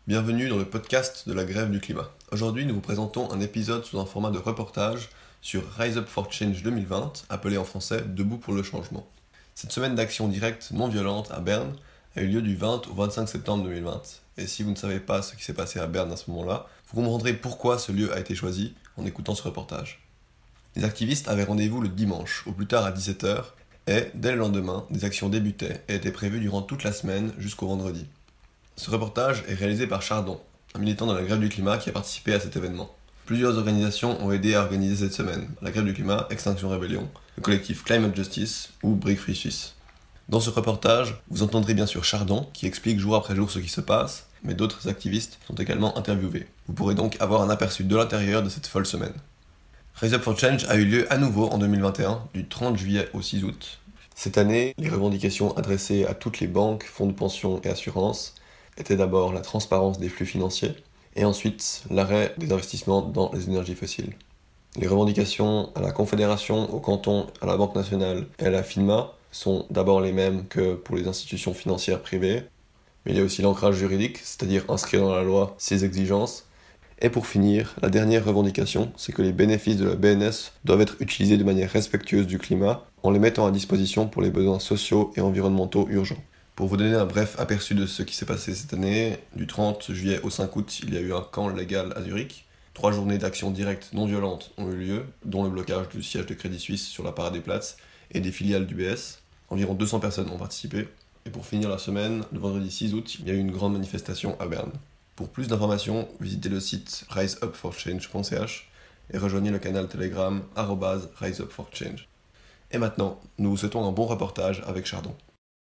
Bienvenue dans le podcast de la grève du climat. Aujourd'hui, nous vous présentons un épisode sous un format de reportage sur Rise Up for Change 2020, appelé en français Debout pour le changement. Cette semaine d'action directe non violente à Berne a eu lieu du 20 au 25 septembre 2020. Et si vous ne savez pas ce qui s'est passé à Berne à ce moment-là, vous comprendrez pourquoi ce lieu a été choisi en écoutant ce reportage. Les activistes avaient rendez-vous le dimanche, au plus tard à 17h, et, dès le lendemain, des actions débutaient et étaient prévues durant toute la semaine jusqu'au vendredi. Ce reportage est réalisé par Chardon, un militant de la grève du climat qui a participé à cet événement. Plusieurs organisations ont aidé à organiser cette semaine, la grève du climat, Extinction Rebellion, le collectif Climate Justice ou Break Free Suisse. Dans ce reportage, vous entendrez bien sûr Chardon qui explique jour après jour ce qui se passe, mais d'autres activistes sont également interviewés. Vous pourrez donc avoir un aperçu de l'intérieur de cette folle semaine. Rise Up for Change a eu lieu à nouveau en 2021, du 30 juillet au 6 août. Cette année, les revendications adressées à toutes les banques, fonds de pension et assurances étaient d'abord la transparence des flux financiers, et ensuite l'arrêt des investissements dans les énergies fossiles. Les revendications à la Confédération, au canton, à la Banque nationale et à la FINMA sont d'abord les mêmes que pour les institutions financières privées, mais il y a aussi l'ancrage juridique, c'est-à-dire inscrire dans la loi ces exigences. Et pour finir, la dernière revendication, c'est que les bénéfices de la BNS doivent être utilisés de manière respectueuse du climat, en les mettant à disposition pour les besoins sociaux et environnementaux urgents. Pour vous donner un bref aperçu de ce qui s'est passé cette année, du 30 juillet au 5 août, il y a eu un camp légal à Zurich. 3 journées d'action directe non violente ont eu lieu, dont le blocage du siège de Crédit Suisse sur la Paradeplatz et des filiales d'UBS. Environ 200 personnes ont participé. Et pour finir la semaine, le vendredi 6 août, il y a eu une grande manifestation à Berne. Pour plus d'informations, visitez le site riseupforchange.ch et rejoignez le canal Telegram @riseupforchange. Et maintenant, nous vous souhaitons un bon reportage avec Chardon.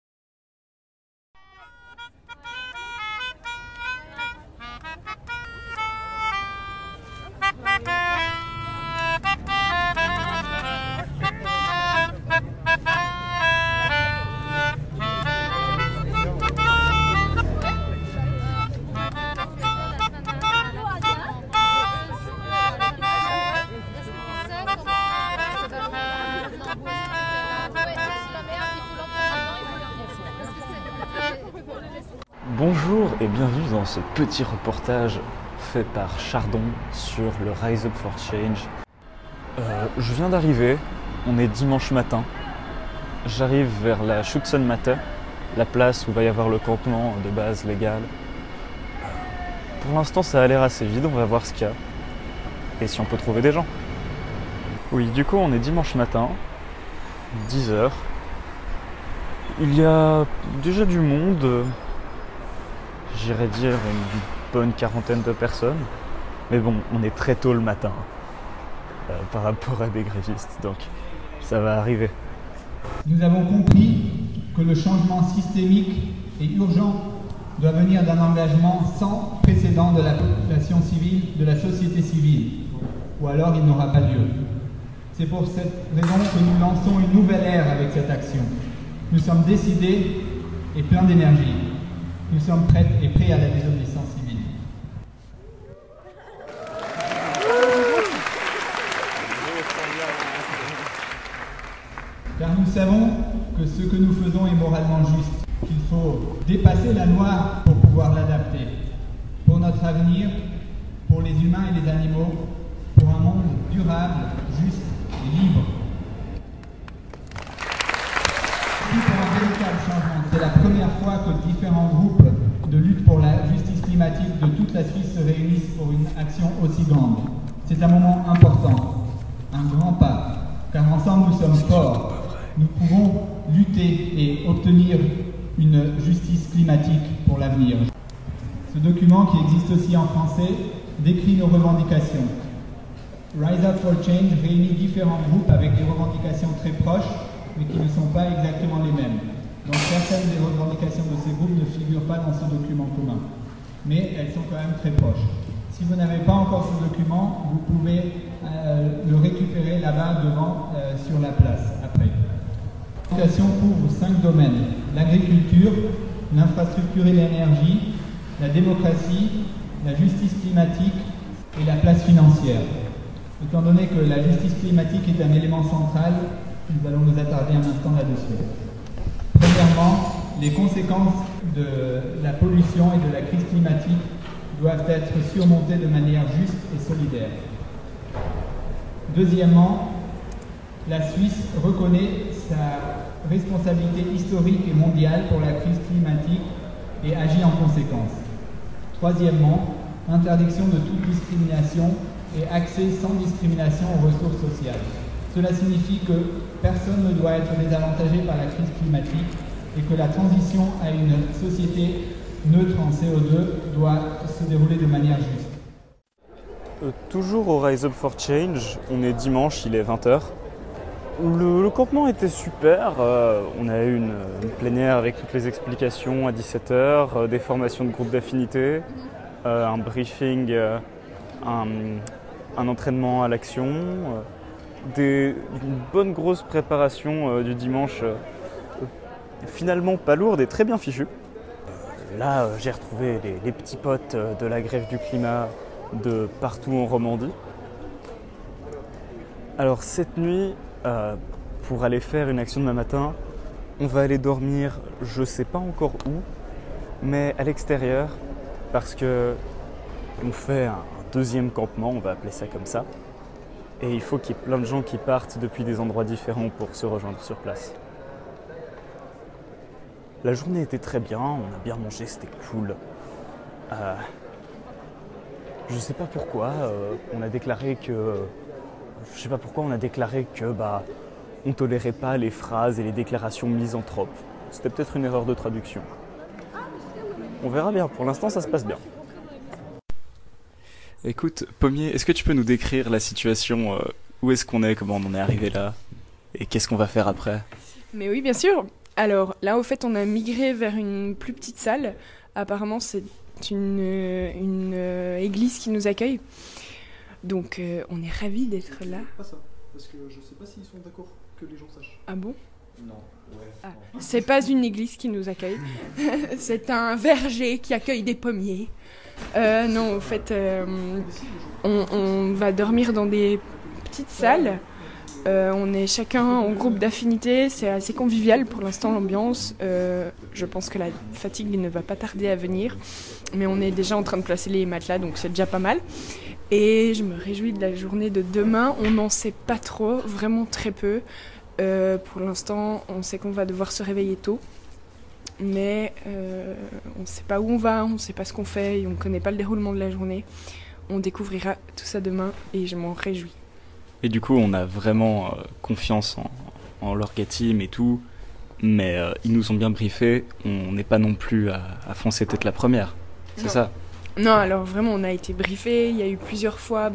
Bonjour et bienvenue dans ce petit reportage fait par Chardon sur le Rise Up for Change. Je viens d'arriver, on est dimanche matin. J'arrive vers la Schützenmatte, la place où va y avoir le campement de base légal. Pour l'instant ça a l'air assez vide, on va voir ce qu'il y a et si on peut trouver des gens. Oui, du coup on est dimanche matin, 10h. Il y a déjà du monde. J'irais dire une bonne quarantaine de personnes. Mais bon, on est très tôt le matin par rapport à des grévistes, donc ça va arriver. Nous avons compris que le changement systémique et urgent doit venir d'un engagement sans précédent de la population civile, de la société civile, ou alors il n'aura pas lieu. C'est pour cette raison que nous lançons une nouvelle ère avec cette action. Nous sommes décidés et pleins d'énergie. Nous sommes prêts et prêts à la désobéissance civile. Car nous savons que ce que nous faisons est moralement juste, qu'il faut dépasser la loi pour pouvoir l'adapter, pour notre avenir, pour les humains et les animaux, pour un monde durable, juste et libre. Pour un véritable changement. C'est la première fois que différents groupes de lutte pour la justice climatique de toute la Suisse se réunissent pour une action aussi grande. C'est un moment important, un grand pas, car ensemble nous sommes forts. Nous pouvons lutter et obtenir une justice climatique pour l'avenir. Ce document, qui existe aussi en français, décrit nos revendications. Rise Up for Change réunit différents groupes avec des revendications très proches, mais qui ne sont pas exactement les mêmes. Donc certaines des revendications de ces groupes ne figurent pas dans ce document commun, mais elles sont quand même très proches. Si vous n'avez pas encore ce document, vous pouvez le récupérer là-bas devant sur la place après. La revendication couvre 5 domaines: l'agriculture, l'infrastructure et l'énergie, la démocratie, la justice climatique et la place financière. Étant donné que la justice climatique est un élément central, nous allons nous attarder un instant là-dessus. Premièrement, les conséquences de la pollution et de la crise climatique doivent être surmontées de manière juste et solidaire. Deuxièmement, la Suisse reconnaît sa responsabilité historique et mondiale pour la crise climatique et agit en conséquence. Troisièmement, interdiction de toute discrimination et accès sans discrimination aux ressources sociales. Cela signifie que personne ne doit être désavantagé par la crise climatique et que la transition à une société neutre en CO2 doit se dérouler de manière juste. Toujours au Rise Up for Change, on est dimanche, il est 20h. Le campement était super, on a eu une plénière avec toutes les explications à 17h, des formations de groupe d'affinité, un briefing, un entraînement à l'action, une bonne grosse préparation du dimanche, finalement pas lourde et très bien fichue. Là, j'ai retrouvé les petits potes de la grève du climat de partout en Romandie. Alors cette nuit, pour aller faire une action demain matin, on va aller dormir, je sais pas encore où, mais à l'extérieur, parce que on fait un deuxième campement, on va appeler ça comme ça, et il faut qu'il y ait plein de gens qui partent depuis des endroits différents pour se rejoindre sur place. La journée était très bien, on a bien mangé, c'était cool. Je sais pas pourquoi, on a déclaré que on tolérait pas les phrases et les déclarations misanthropes. C'était peut-être une erreur de traduction. On verra bien, pour l'instant ça se passe bien. Écoute, Pommier, est-ce que tu peux nous décrire la situation, où est-ce qu'on est, comment on en est arrivé là, et qu'est-ce qu'on va faire après? Mais oui, bien sûr. Alors là, au fait, on a migré vers une plus petite salle. Apparemment, c'est une église qui nous accueille. Donc, on est ravis d'être là. Pas ça, parce que je sais pas s'ils sont d'accord que les gens sachent. Ah bon? Non, ouais. Ah, c'est pas une église qui nous accueille. C'est un verger qui accueille des pommiers. Non, au fait, on va dormir dans des petites salles. On est chacun en groupe d'affinité, c'est assez convivial pour l'instant l'ambiance. Je pense que la fatigue ne va pas tarder à venir, mais on est déjà en train de placer les matelas, donc c'est déjà pas mal. Et je me réjouis de la journée de demain, on n'en sait pas trop, vraiment très peu. Pour l'instant, on sait qu'on va devoir se réveiller tôt, mais on ne sait pas où on va, on ne sait pas ce qu'on fait, et on ne connaît pas le déroulement de la journée. On découvrira tout ça demain et je m'en réjouis. Et du coup, on a vraiment confiance en l'orga-team et tout, mais ils nous ont bien briefés, on n'est pas non plus à foncer tête la première, c'est Non. ça? Non, alors vraiment, on a été briefés, il y a eu plusieurs fois...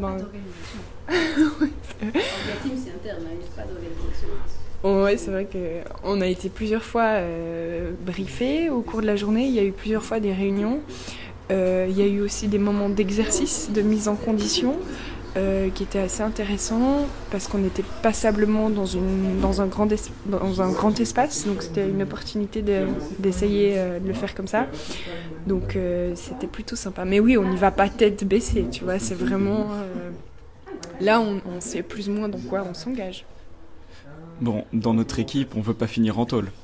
L'orga-team, c'est interne, il n'y a pas d'organisation. Ouais, c'est vrai qu'on a été plusieurs fois briefés au cours de la journée, il y a eu plusieurs fois des réunions, il y a eu aussi des moments d'exercice, de mise en condition, qui était assez intéressant parce qu'on était passablement dans un grand espace, donc c'était une opportunité d'essayer de le faire comme ça. Donc c'était plutôt sympa. Mais oui, on n'y va pas tête baissée, tu vois, c'est vraiment... là, on sait plus ou moins dans quoi on s'engage. Bon, dans notre équipe, on veut pas finir en tôle.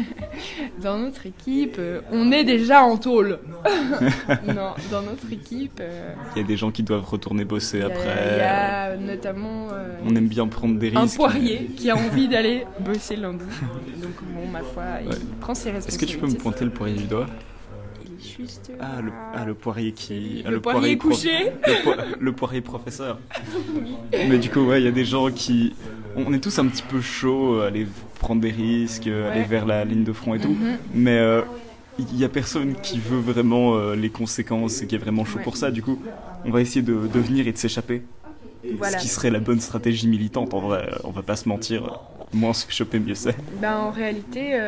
Dans notre équipe, on est déjà en tôle. Non, dans notre équipe... Il y a des gens qui doivent retourner bosser après. Il y a notamment... on aime bien prendre des risques. un poirier qui a envie d'aller bosser lundi. Donc bon, ma foi, il prend ses responsabilités. Est-ce que tu peux me pointer le poirier du doigt? Il est juste le poirier qui... Le poirier couché. Le poirier professeur. Mais du coup, ouais, il y a des gens qui... On est tous un petit peu chauds, aller prendre des risques, aller vers la ligne de front et tout. Mais il n'y a personne qui veut vraiment les conséquences et qui est vraiment chaud pour ça. Du coup, on va essayer de venir et de s'échapper. Voilà. Ce qui serait la bonne stratégie militante, en vrai. On va pas se mentir. Moins on se fait choper, mieux c'est. En réalité,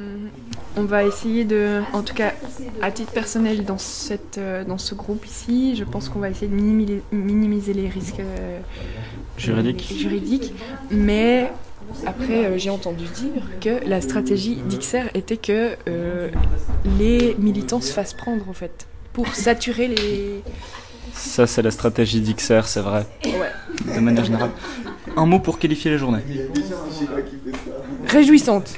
on va essayer de, en tout cas à titre personnel dans ce groupe ici, je pense qu'on va essayer de minimiser les risques juridiques. Mais après, j'ai entendu dire que la stratégie d'XR était que les militants se fassent prendre en fait, pour saturer les... Ça, c'est la stratégie d'XR, c'est vrai. Ouais. De manière générale. Un mot pour qualifier la journée. Réjouissante.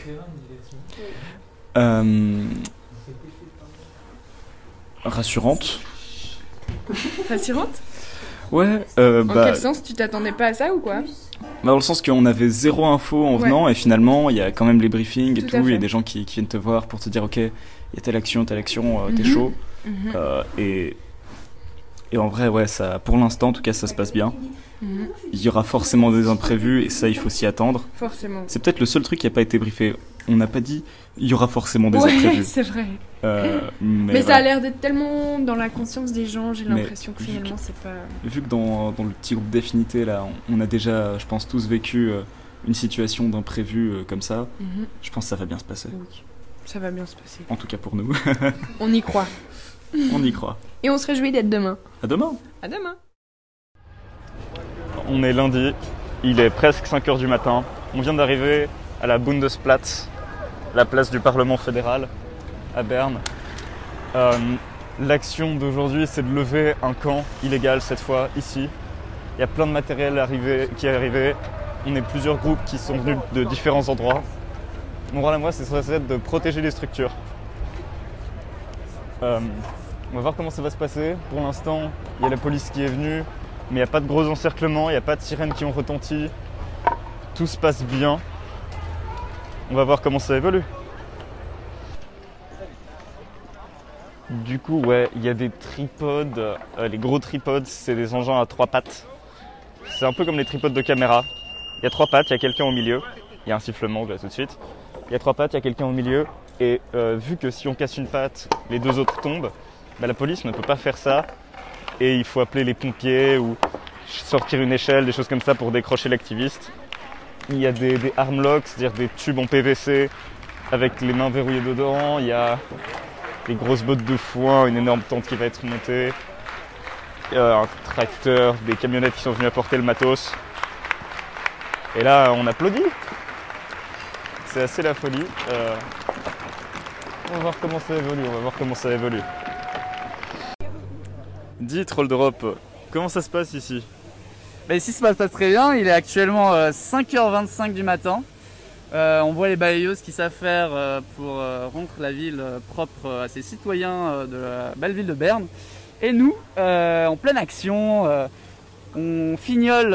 Rassurante. Rassurante? Ouais, En quel sens? Tu t'attendais pas à ça ou quoi? dans le sens qu'on avait zéro info en venant et finalement il y a quand même les briefings et tout, il y a des gens qui viennent te voir pour te dire ok, il y a telle action, t'es chaud. Et en vrai, ouais, ça, pour l'instant en tout cas ça se passe bien. Il y aura forcément des imprévus et ça il faut s'y attendre. Forcément. C'est peut-être le seul truc qui n'a pas été briefé. On n'a pas dit il y aura forcément des imprévus. C'est vrai. Mais ça a l'air d'être tellement dans la conscience des gens, j'ai l'impression que finalement c'est pas... Vu que dans le petit groupe d'affinité là, on a déjà, je pense, tous vécu une situation d'imprévu comme ça, je pense que ça va bien se passer. Oui, ça va bien se passer. En tout cas pour nous. On y croit. On y croit. Et on se réjouit d'être demain. À demain. À demain. On est lundi, il est presque 5h du matin. On vient d'arriver à la Bundesplatz, la place du Parlement fédéral à Berne. L'action d'aujourd'hui, c'est de lever un camp illégal cette fois, ici. Il y a plein de matériel qui est arrivé. On est plusieurs groupes qui sont venus de différents endroits. Mon rôle à moi, c'est de protéger les structures. On va voir comment ça va se passer. Pour l'instant, il y a la police qui est venue, mais il n'y a pas de gros encerclements, il n'y a pas de sirènes qui ont retenti. Tout se passe bien. On va voir comment ça évolue. Du coup, ouais, il y a des tripodes. Les gros tripodes, c'est des engins à 3 pattes. C'est un peu comme les tripodes de caméra. Il y a 3 pattes, il y a quelqu'un au milieu. Il y a un sifflement là tout de suite. Il y a 3 pattes, il y a quelqu'un au milieu. Et vu que si on casse une patte, les 2 autres tombent, la police ne peut pas faire ça. Et il faut appeler les pompiers ou sortir une échelle, des choses comme ça pour décrocher l'activiste. Il y a des arm locks, c'est-à-dire des tubes en PVC avec les mains verrouillées dedans. Il y a des grosses bottes de foin, une énorme tente qui va être montée. Un tracteur, des camionnettes qui sont venues apporter le matos. Et là, on applaudit. C'est assez la folie. On va voir comment ça évolue, Dis, Troll d'Europe, comment ça se passe ici? Ici ça se passe très bien, il est actuellement 5h25 du matin. On voit les balayeuses qui savent faire pour rendre la ville propre à ses citoyens de la belle ville de Berne. Et nous, en pleine action, on fignole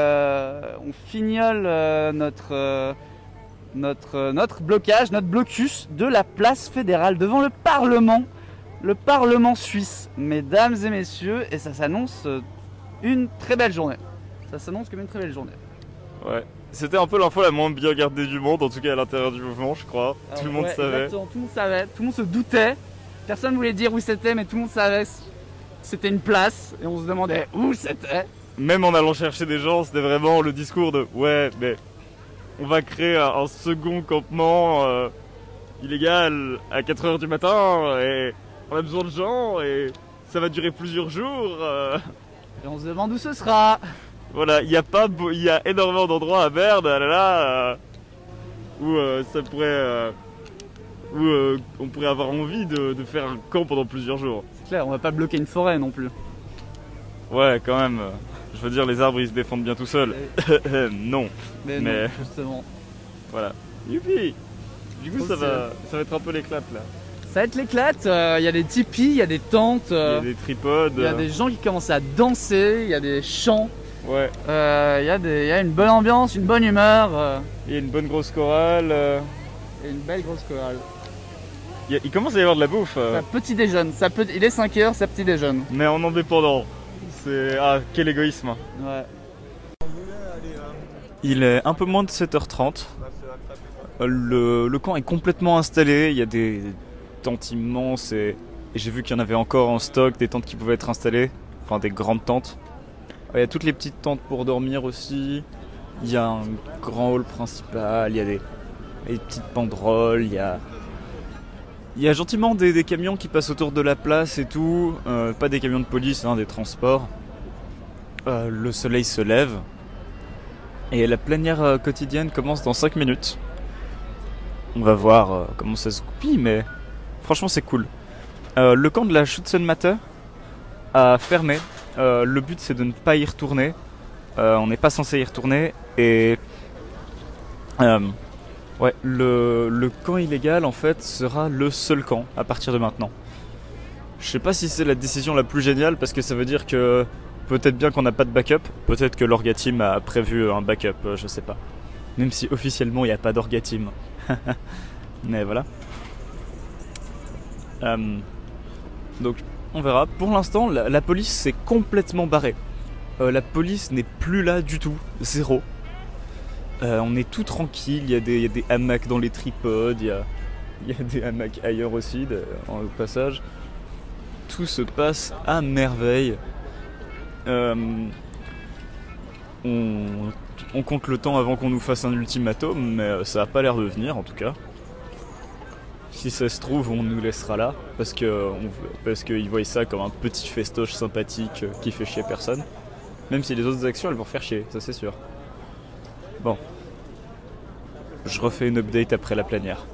notre blocage, notre blocus de la place fédérale devant le Parlement suisse, mesdames et messieurs, et ça s'annonce une très belle journée. Ça s'annonce comme une très belle journée. Ouais, c'était un peu l'info la moins bien gardée du monde, en tout cas à l'intérieur du mouvement, je crois. Alors, tout le monde savait. Exactement, tout le monde savait, tout le monde se doutait. Personne ne voulait dire où c'était, mais tout le monde savait que c'était une place, et on se demandait où c'était. Même en allant chercher des gens, c'était vraiment le discours de « Ouais, mais on va créer un second campement illégal à 4h du matin, et on a besoin de gens, et ça va durer plusieurs jours. Et on se demande où ce sera. Voilà, il y a énormément d'endroits à Berne, où ça pourrait... où on pourrait avoir envie de faire un camp pendant plusieurs jours. C'est clair, on va pas bloquer une forêt non plus. Ouais, quand même. Je veux dire, les arbres ils se défendent bien tout seuls. Non. Mais non, justement. Voilà. Youpi. Du coup, ça va être un peu l'éclate là. Ça va être l'éclate, il y a des tipis, il y a des tentes, il y a des tripodes, il y a des gens qui commencent à danser, il y a des chants. Ouais. Il y a une bonne ambiance, une bonne humeur. Il y a une bonne grosse chorale. Et une belle grosse chorale. Il commence à y avoir de la bouffe. Ça petit déjeune, il est 5h, ça petit déjeune. Mais en indépendant. Ah, quel égoïsme. Ouais. Il est un peu moins de 7h30. Le camp est complètement installé, il y a des tentes immenses et j'ai vu qu'il y en avait encore en stock, des tentes qui pouvaient être installées, enfin des grandes tentes. Il y a toutes les petites tentes pour dormir aussi, il y a un grand hall principal, il y a des petites banderoles, il y a gentiment des camions qui passent autour de la place et tout, pas des camions de police, des transports. Le soleil se lève et la plénière quotidienne commence dans 5 minutes. On va voir comment ça se goupille, mais franchement c'est cool. Le camp de la Schützenmatte a fermé. Le but c'est de ne pas y retourner. On n'est pas censé y retourner. Et ouais, le camp illégal en fait sera le seul camp à partir de maintenant. Je sais pas si c'est la décision la plus géniale parce que ça veut dire que peut-être bien qu'on n'a pas de backup, peut-être que l'Orga Team a prévu un backup, je sais pas. Même si officiellement il n'y a pas d'Orga Team. Mais voilà. Donc on verra. Pour l'instant, la police s'est complètement barrée. La police n'est plus là du tout, zéro. On est tout tranquille, il y a des hamacs dans les tripodes, il y a des hamacs ailleurs aussi, au passage. Tout se passe à merveille. On compte le temps avant qu'on nous fasse un ultimatum, mais ça a pas l'air de venir en tout cas. Si ça se trouve, on nous laissera là, parce qu'ils voient ça comme un petit festoche sympathique qui fait chier personne. Même si les autres actions, elles vont faire chier, ça c'est sûr. Bon. Je refais une update après la plénière.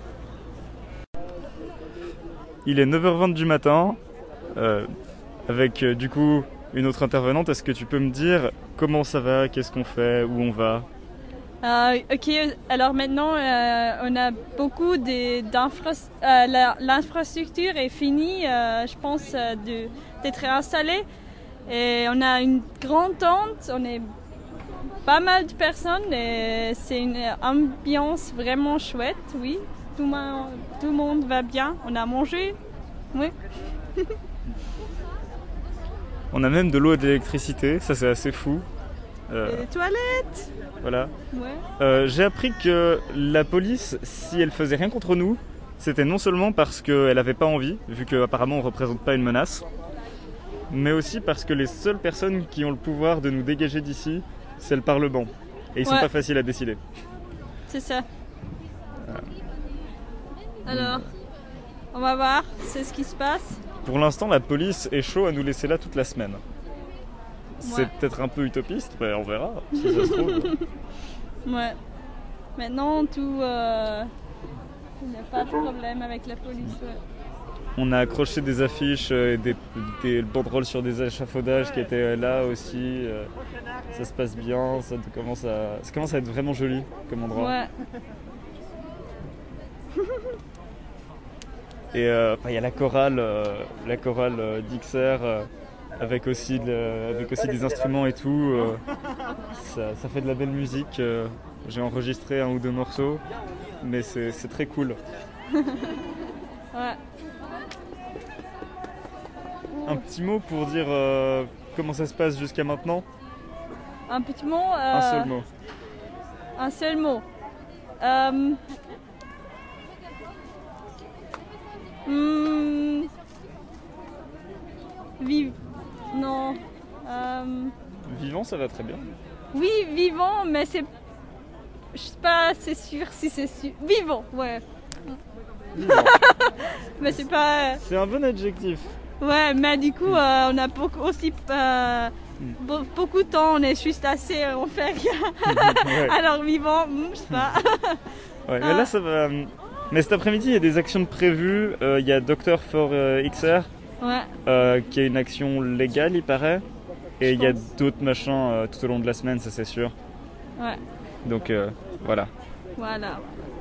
Il est 9h20 du matin, avec du coup une autre intervenante. Est-ce que tu peux me dire comment ça va, qu'est-ce qu'on fait, où on va? Ok, alors maintenant on a beaucoup l'infrastructure est finie, je pense, d'être installée. Et on a une grande tente, on est pas mal de personnes et c'est une ambiance vraiment chouette, oui. Tout le monde va bien, on a mangé, oui. On a même de l'eau et de l'électricité, ça c'est assez fou. Et des toilettes. Voilà. Ouais. J'ai appris que la police, si elle faisait rien contre nous, c'était non seulement parce qu'elle avait pas envie, vu qu'apparemment on représente pas une menace, mais aussi parce que les seules personnes qui ont le pouvoir de nous dégager d'ici, c'est le Parlement. Et ils sont pas faciles à décider. C'est ça. Alors, on va voir, c'est ce qui se passe. Pour l'instant, la police est chaud à nous laisser là toute la semaine. C'est peut-être un peu utopiste, mais on verra, si ça se trouve. Ouais. Maintenant, il n'y a pas de problème avec la police. Ouais. On a accroché des affiches et des banderoles sur des échafaudages qui étaient là aussi. Ça se passe bien, ça commence à être vraiment joli comme endroit. Ouais. Et y a la chorale d'Ixer avec aussi des instruments et tout. Ça fait de la belle musique. J'ai enregistré 1 ou 2 morceaux, mais c'est très cool. Ouais. Un petit mot pour dire comment ça se passe jusqu'à maintenant? Un petit mot Un seul mot. Un seul mot. Non. Vivant, ça va très bien. Oui, vivant, mais c'est... Je sais pas, c'est sûr si c'est sûr. Vivant, ouais. Vivant. Mais c'est pas... C'est un bon adjectif. Ouais, mais du coup, on a beaucoup de temps, on est juste assez, on fait rien. Ouais. Alors vivant, je sais pas. Ouais, mais là ça va. Mais cet après-midi, il y a des actions prévues. Il y a Doctor for XR, qui est une action légale, il paraît. Et il y a d'autres machins tout au long de la semaine, ça c'est sûr. Ouais. Donc voilà. Voilà.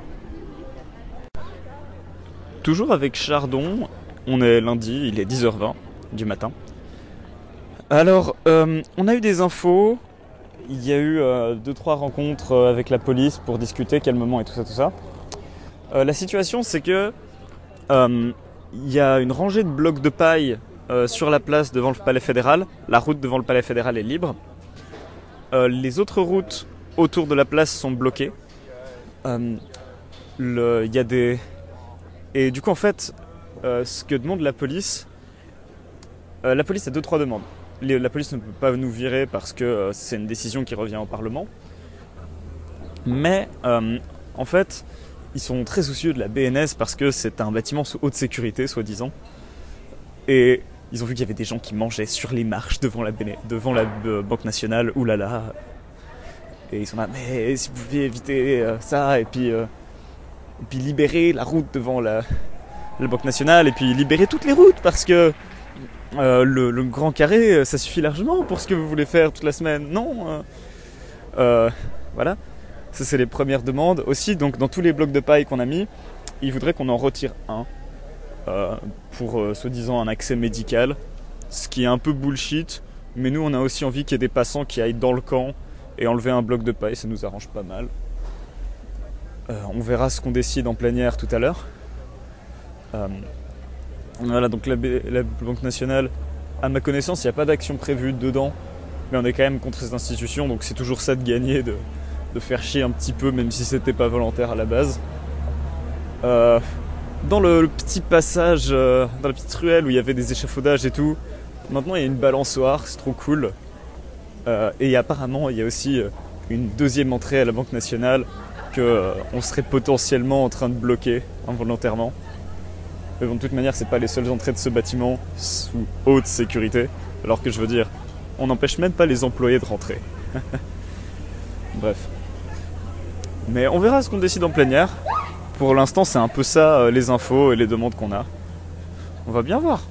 Toujours avec Chardon, on est lundi, il est 10h20 du matin. Alors, on a eu des infos. Il y a eu 2-3 rencontres avec la police pour discuter calmement et tout ça. La situation, c'est que il y a une rangée de blocs de paille sur la place devant le palais fédéral. La route devant le palais fédéral est libre. Les autres routes autour de la place sont bloquées. Il y a des... Et du coup, en fait, ce que demande la police a 2-3 demandes. La police ne peut pas nous virer parce que c'est une décision qui revient au Parlement. Mais en fait, ils sont très soucieux de la BNS parce que c'est un bâtiment sous haute sécurité, soi-disant. Et ils ont vu qu'il y avait des gens qui mangeaient sur les marches devant la Banque Nationale. Oulala. Et ils sont là, mais si vous pouviez éviter ça, et puis libérer la route devant la Banque Nationale, et puis libérer toutes les routes parce que le grand carré, ça suffit largement pour ce que vous voulez faire toute la semaine. Non. Voilà. Ça, c'est les premières demandes. Aussi, donc, dans tous les blocs de paille qu'on a mis, ils voudraient qu'on en retire un. pour soi-disant un accès médical, ce qui est un peu bullshit, mais nous on a aussi envie qu'il y ait des passants qui aillent dans le camp et enlever un bloc de paille, ça nous arrange pas mal. On verra ce qu'on décide en plénière tout à l'heure. Voilà, donc la Banque nationale, à ma connaissance, il n'y a pas d'action prévue dedans, mais on est quand même contre cette institution, donc c'est toujours ça de gagner, de faire chier un petit peu, même si c'était pas volontaire à la base. Dans le petit passage, dans la petite ruelle où il y avait des échafaudages et tout, maintenant il y a une balançoire, c'est trop cool. Et apparemment il y a aussi une deuxième entrée à la Banque nationale qu'on serait potentiellement en train de bloquer involontairement. Mais bon, de toute manière, c'est pas les seules entrées de ce bâtiment sous haute sécurité. Alors que je veux dire, on n'empêche même pas les employés de rentrer. Bref. Mais on verra ce qu'on décide en plénière. Pour l'instant, c'est un peu ça les infos et les demandes qu'on a. On va bien voir.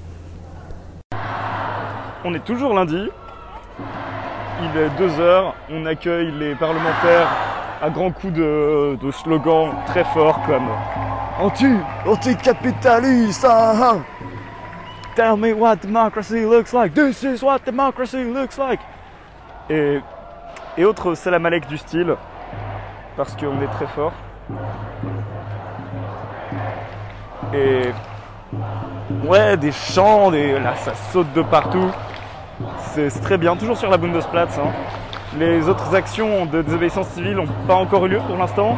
On est toujours lundi. Il est 2h. On accueille les parlementaires à grands coups de slogans très forts comme anti-capitaliste, tell me what democracy looks like, this is what democracy looks like, et autres salam alek du style, parce qu'on est très fort. Et ouais, des chants, là ça saute de partout, c'est très bien, toujours sur la Bundesplatz. Les autres actions de désobéissance civile n'ont pas encore eu lieu pour l'instant.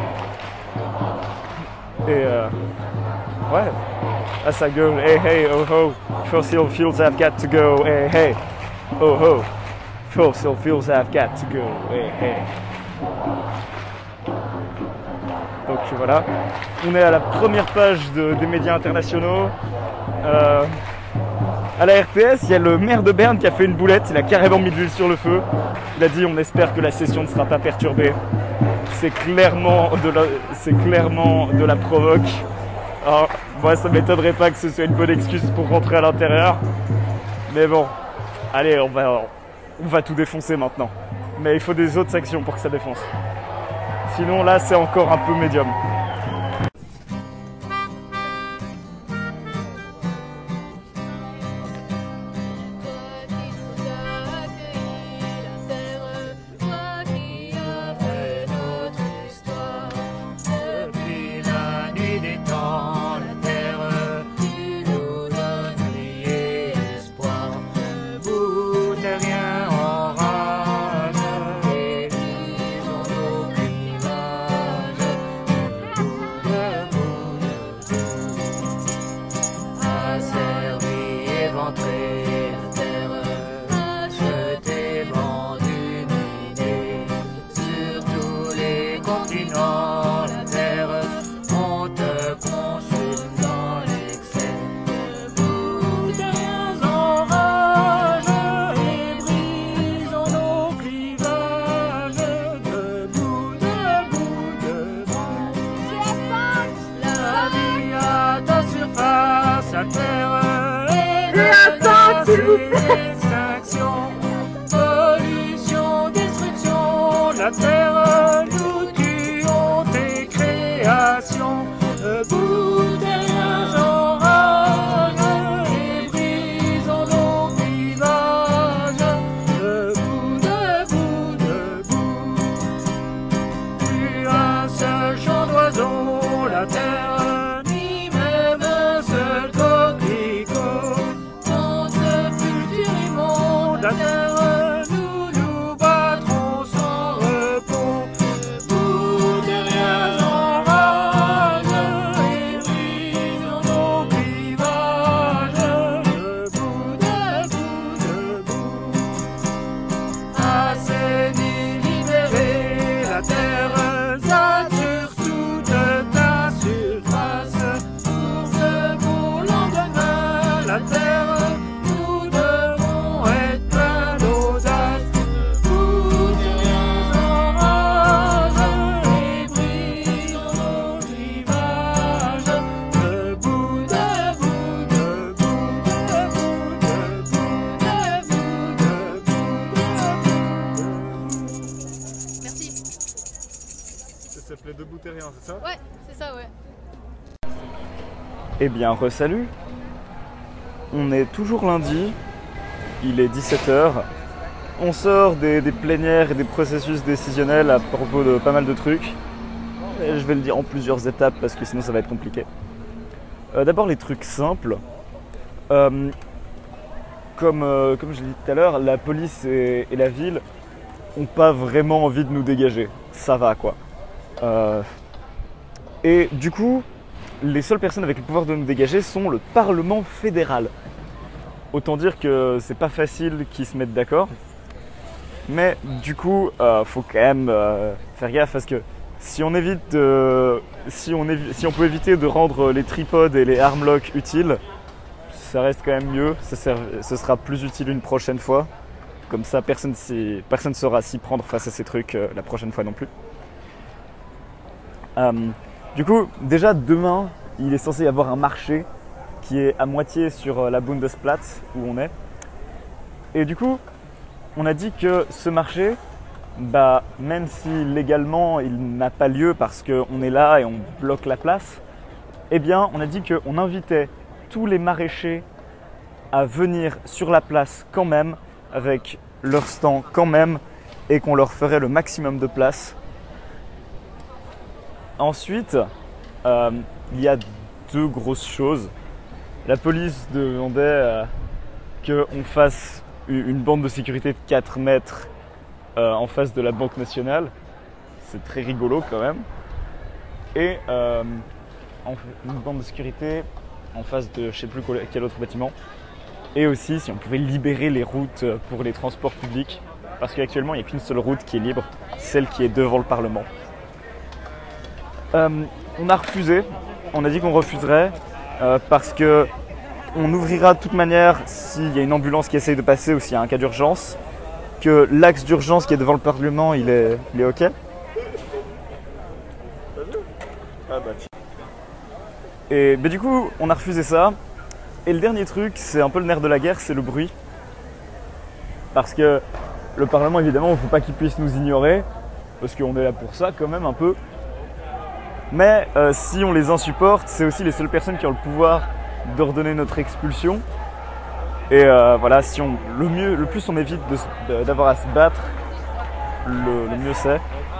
Et ouais, là ça gueule, hey hey, oh ho, fossil fuels have got to go, hey hey, oh ho, fossil fuels have got to go, hey hey. Donc voilà, on est à la première page des médias internationaux. À la RTS, il y a le maire de Berne qui a fait une boulette, il a carrément mis de l'huile sur le feu. Il a dit on espère que la session ne sera pas perturbée. C'est clairement de la provoque. Alors, moi ça m'étonnerait pas que ce soit une bonne excuse pour rentrer à l'intérieur. Mais bon, allez, on va tout défoncer maintenant. Mais il faut des autres actions pour que ça défonce. Sinon là c'est encore un peu médium. Extinction, pollution, destruction, la terre, nous tuons tes créations, debout derrière orage, et brisons nos clivages, debout, debout, debout, plus un seul chant d'oiseau, la terre, ni même un seul coquelicot. La terre, nous nous battrons sans repos, debout derrière l'orage, et brisons nos clivages, debout, debout, debout, assainie, libérée, la terre, sature toute ta surface, pour ce beau lendemain, la terre. Ça s'appelait Debout Terrien, c'est ça? Ouais, c'est ça, ouais. Eh bien, re-salut. On est toujours lundi, il est 17h. On sort des plénières et des processus décisionnels à propos de pas mal de trucs. Et je vais le dire en plusieurs étapes parce que sinon ça va être compliqué. D'abord les trucs simples. Comme je l'ai dit tout à l'heure, la police et la ville n'ont pas vraiment envie de nous dégager. Ça va quoi. Et du coup, les seules personnes avec le pouvoir de nous dégager sont le Parlement fédéral. Autant dire que c'est pas facile qu'ils se mettent d'accord. Mais du coup, faut quand même faire gaffe parce que si on peut éviter de rendre les tripodes et les armlocks utiles, ça reste quand même mieux. Ce sera plus utile une prochaine fois. Comme ça, personne ne saura s'y prendre face à ces trucs la prochaine fois non plus. Du coup, déjà demain, il est censé y avoir un marché qui est à moitié sur la Bundesplatz où on est. Et du coup, on a dit que ce marché, même si légalement il n'a pas lieu parce qu'on est là et on bloque la place, eh bien on a dit qu'on invitait tous les maraîchers à venir sur la place quand même, avec leur stand quand même, et qu'on leur ferait le maximum de place. Ensuite, il y a deux grosses choses. La police demandait qu'on fasse une bande de sécurité de 4 mètres en face de la Banque nationale. C'est très rigolo quand même. Et une bande de sécurité en face de je ne sais plus quel autre bâtiment. Et aussi si on pouvait libérer les routes pour les transports publics. Parce qu'actuellement il n'y a qu'une seule route qui est libre, celle qui est devant le Parlement. On a refusé, on a dit qu'on refuserait parce que on ouvrira de toute manière s'il y a une ambulance qui essaye de passer ou s'il y a un cas d'urgence, que l'axe d'urgence qui est devant le Parlement il est ok. Et du coup on a refusé ça. Et le dernier truc, c'est un peu le nerf de la guerre, c'est le bruit. Parce que le Parlement évidemment il ne faut pas qu'il puisse nous ignorer, parce qu'on est là pour ça quand même un peu. Mais si on les insupporte, c'est aussi les seules personnes qui ont le pouvoir d'ordonner notre expulsion. Et voilà, le plus on évite d'avoir à se battre, le mieux c'est.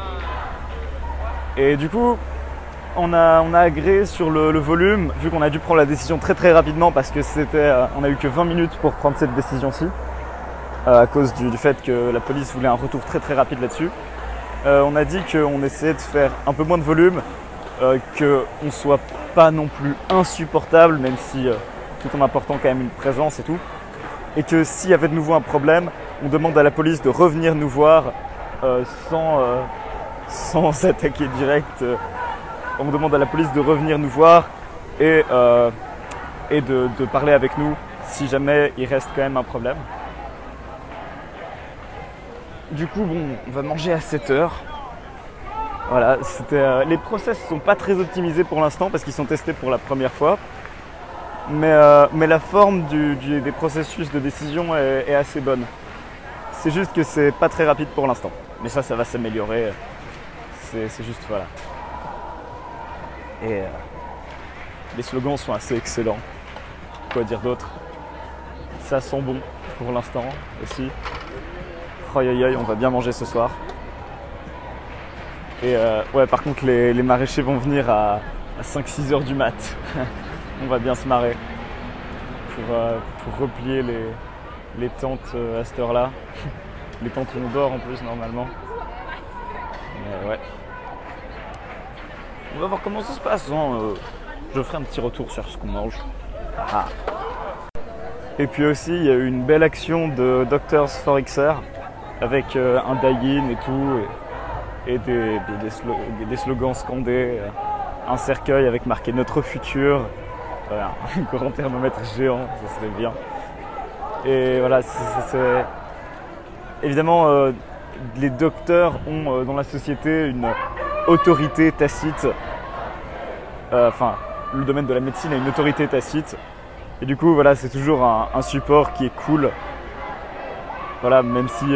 Et du coup, on a agréé sur le volume, vu qu'on a dû prendre la décision très très rapidement parce que on a eu que 20 minutes pour prendre cette décision-ci, à cause du fait que la police voulait un retour très très rapide là-dessus. On a dit qu'on essayait de faire un peu moins de volume, qu'on ne soit pas non plus insupportable, même si tout en apportant quand même une présence et tout. Et que s'il y avait de nouveau un problème, on demande à la police de revenir nous voir sans s'attaquer direct. On demande à la police de revenir nous voir et de parler avec nous si jamais il reste quand même un problème. Du coup, bon, on va manger à 7h. Voilà, les process ne sont pas très optimisés pour l'instant parce qu'ils sont testés pour la première fois. Mais la forme des processus de décision est assez bonne. C'est juste que c'est pas très rapide pour l'instant. Mais ça va s'améliorer. C'est juste, voilà. Et les slogans sont assez excellents. Quoi dire d'autre? Ça sent bon pour l'instant aussi. Aïe aïe aïe, on va bien manger ce soir. Et ouais, par contre les maraîchers vont venir à 5-6 heures du mat. On va bien se marrer pour replier les tentes à cette heure-là. Les tentes où on dort en plus normalement. Mais ouais. On va voir comment ça se passe. Je ferai un petit retour sur ce qu'on mange. Ah. Et puis aussi, il y a eu une belle action de Doctors for XR avec un die-in et tout. Et des slogans scandés. Un cercueil avec marqué Notre futur. Voilà, un grand thermomètre géant, ça serait bien. Et voilà, évidemment, les docteurs ont dans la société une autorité tacite. Enfin, le domaine de la médecine a une autorité tacite. Et du coup, voilà, c'est toujours un support qui est cool. Voilà, même si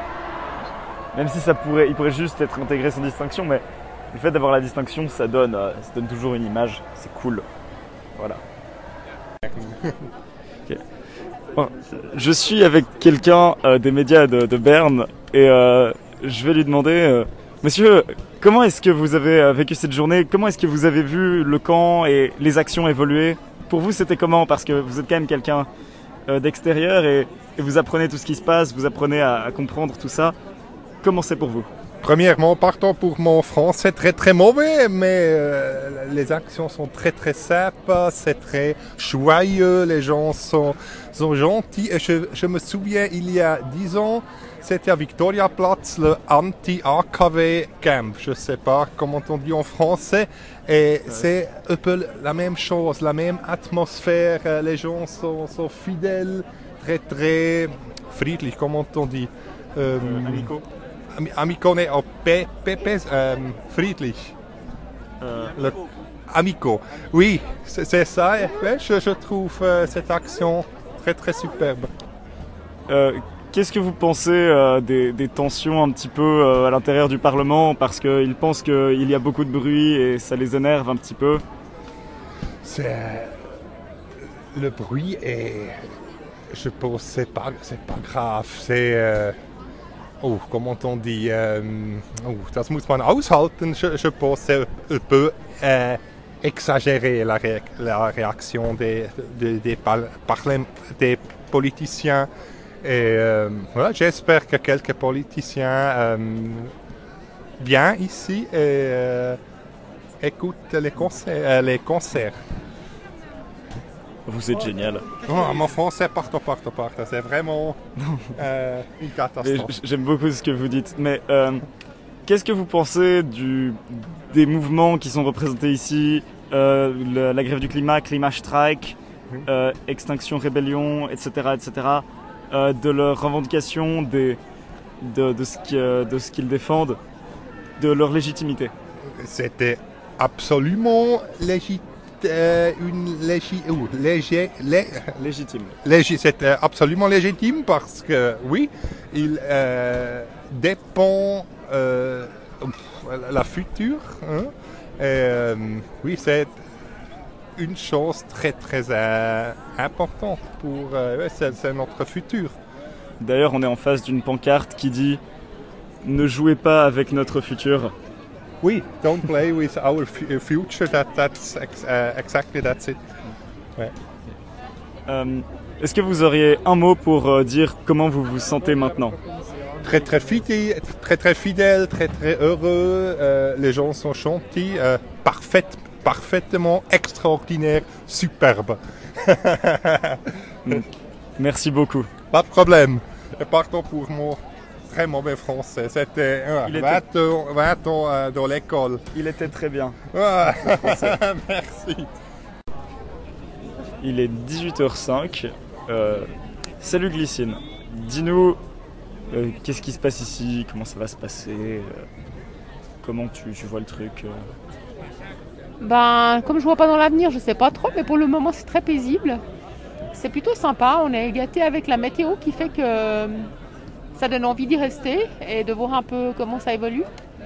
il pourrait juste être intégré sans distinction, mais le fait d'avoir la distinction, ça donne toujours une image. C'est cool. Voilà. Okay. Bon, je suis avec quelqu'un des médias de Berne et je vais lui demander, monsieur, comment est-ce que vous avez vécu cette journée? Comment est-ce que vous avez vu le camp et les actions évoluer? Pour vous, c'était comment? Parce que vous êtes quand même quelqu'un d'extérieur et vous apprenez tout ce qui se passe, vous apprenez à comprendre tout ça. Comment c'est pour vous? Premièrement, partons pour mon français très très mauvais, mais les actions sont très très sympas, c'est très joyeux, les gens sont gentils. Et je me souviens, il y a 10 ans, c'était à Victoriaplatz, le anti-AKW camp. Je ne sais pas comment on dit en français. Et c'est un peu la même chose, la même atmosphère. Les gens sont fidèles, très très friedlich, comment on dit Amicaux. Amico, ne, friedlich. Amico. Oui, c'est ça. Je trouve cette action très très superbe. Qu'est-ce que vous pensez des tensions un petit peu à l'intérieur du Parlement? Parce qu'ils pensent qu'il y a beaucoup de bruit et ça les énerve un petit peu. Le bruit est... Je pense que c'est pas grave. C'est... comment on dit, das muss man aushalten. Je pense que c'est un peu exagéré la réaction des politiciens. Et voilà, j'espère que quelques politiciens viennent ici et écoutent les concerts. Vous êtes génial. Oh, mon français, partout. C'est vraiment une catastrophe. J'aime beaucoup ce que vous dites. Mais qu'est-ce que vous pensez des mouvements qui sont représentés ici, la grève du climat, Klimastrike, Extinction Rébellion, etc., de leurs revendications, de ce qu'ils défendent, de leur légitimité? C'était absolument légitime. Légitime. C'est absolument légitime parce que, oui, il dépend la future. Hein, oui, c'est une chose très très importante pour c'est notre futur. D'ailleurs, on est en face d'une pancarte qui dit « Ne jouez pas avec notre futur ». Oui, don't play with our future. That's exactly that's it. Ouais. Est-ce que vous auriez un mot pour dire comment vous vous sentez maintenant? Très très fidèle, très très heureux. Les gens sont gentils, parfaitement extraordinaire, superbe. Merci beaucoup. Pas de problème. Et partons pour mon très mauvais français. C'était 20 ans dans l'école. Il était très bien. Merci. Il est 18h05. Salut Glycine. Dis-nous, qu'est-ce qui se passe ici? Comment ça va se passer? Comment tu vois le truc? Comme je vois pas dans l'avenir, je sais pas trop, mais pour le moment c'est très paisible. C'est plutôt sympa, on est gâtés avec la météo qui fait que ça donne envie d'y rester et de voir un peu comment ça évolue.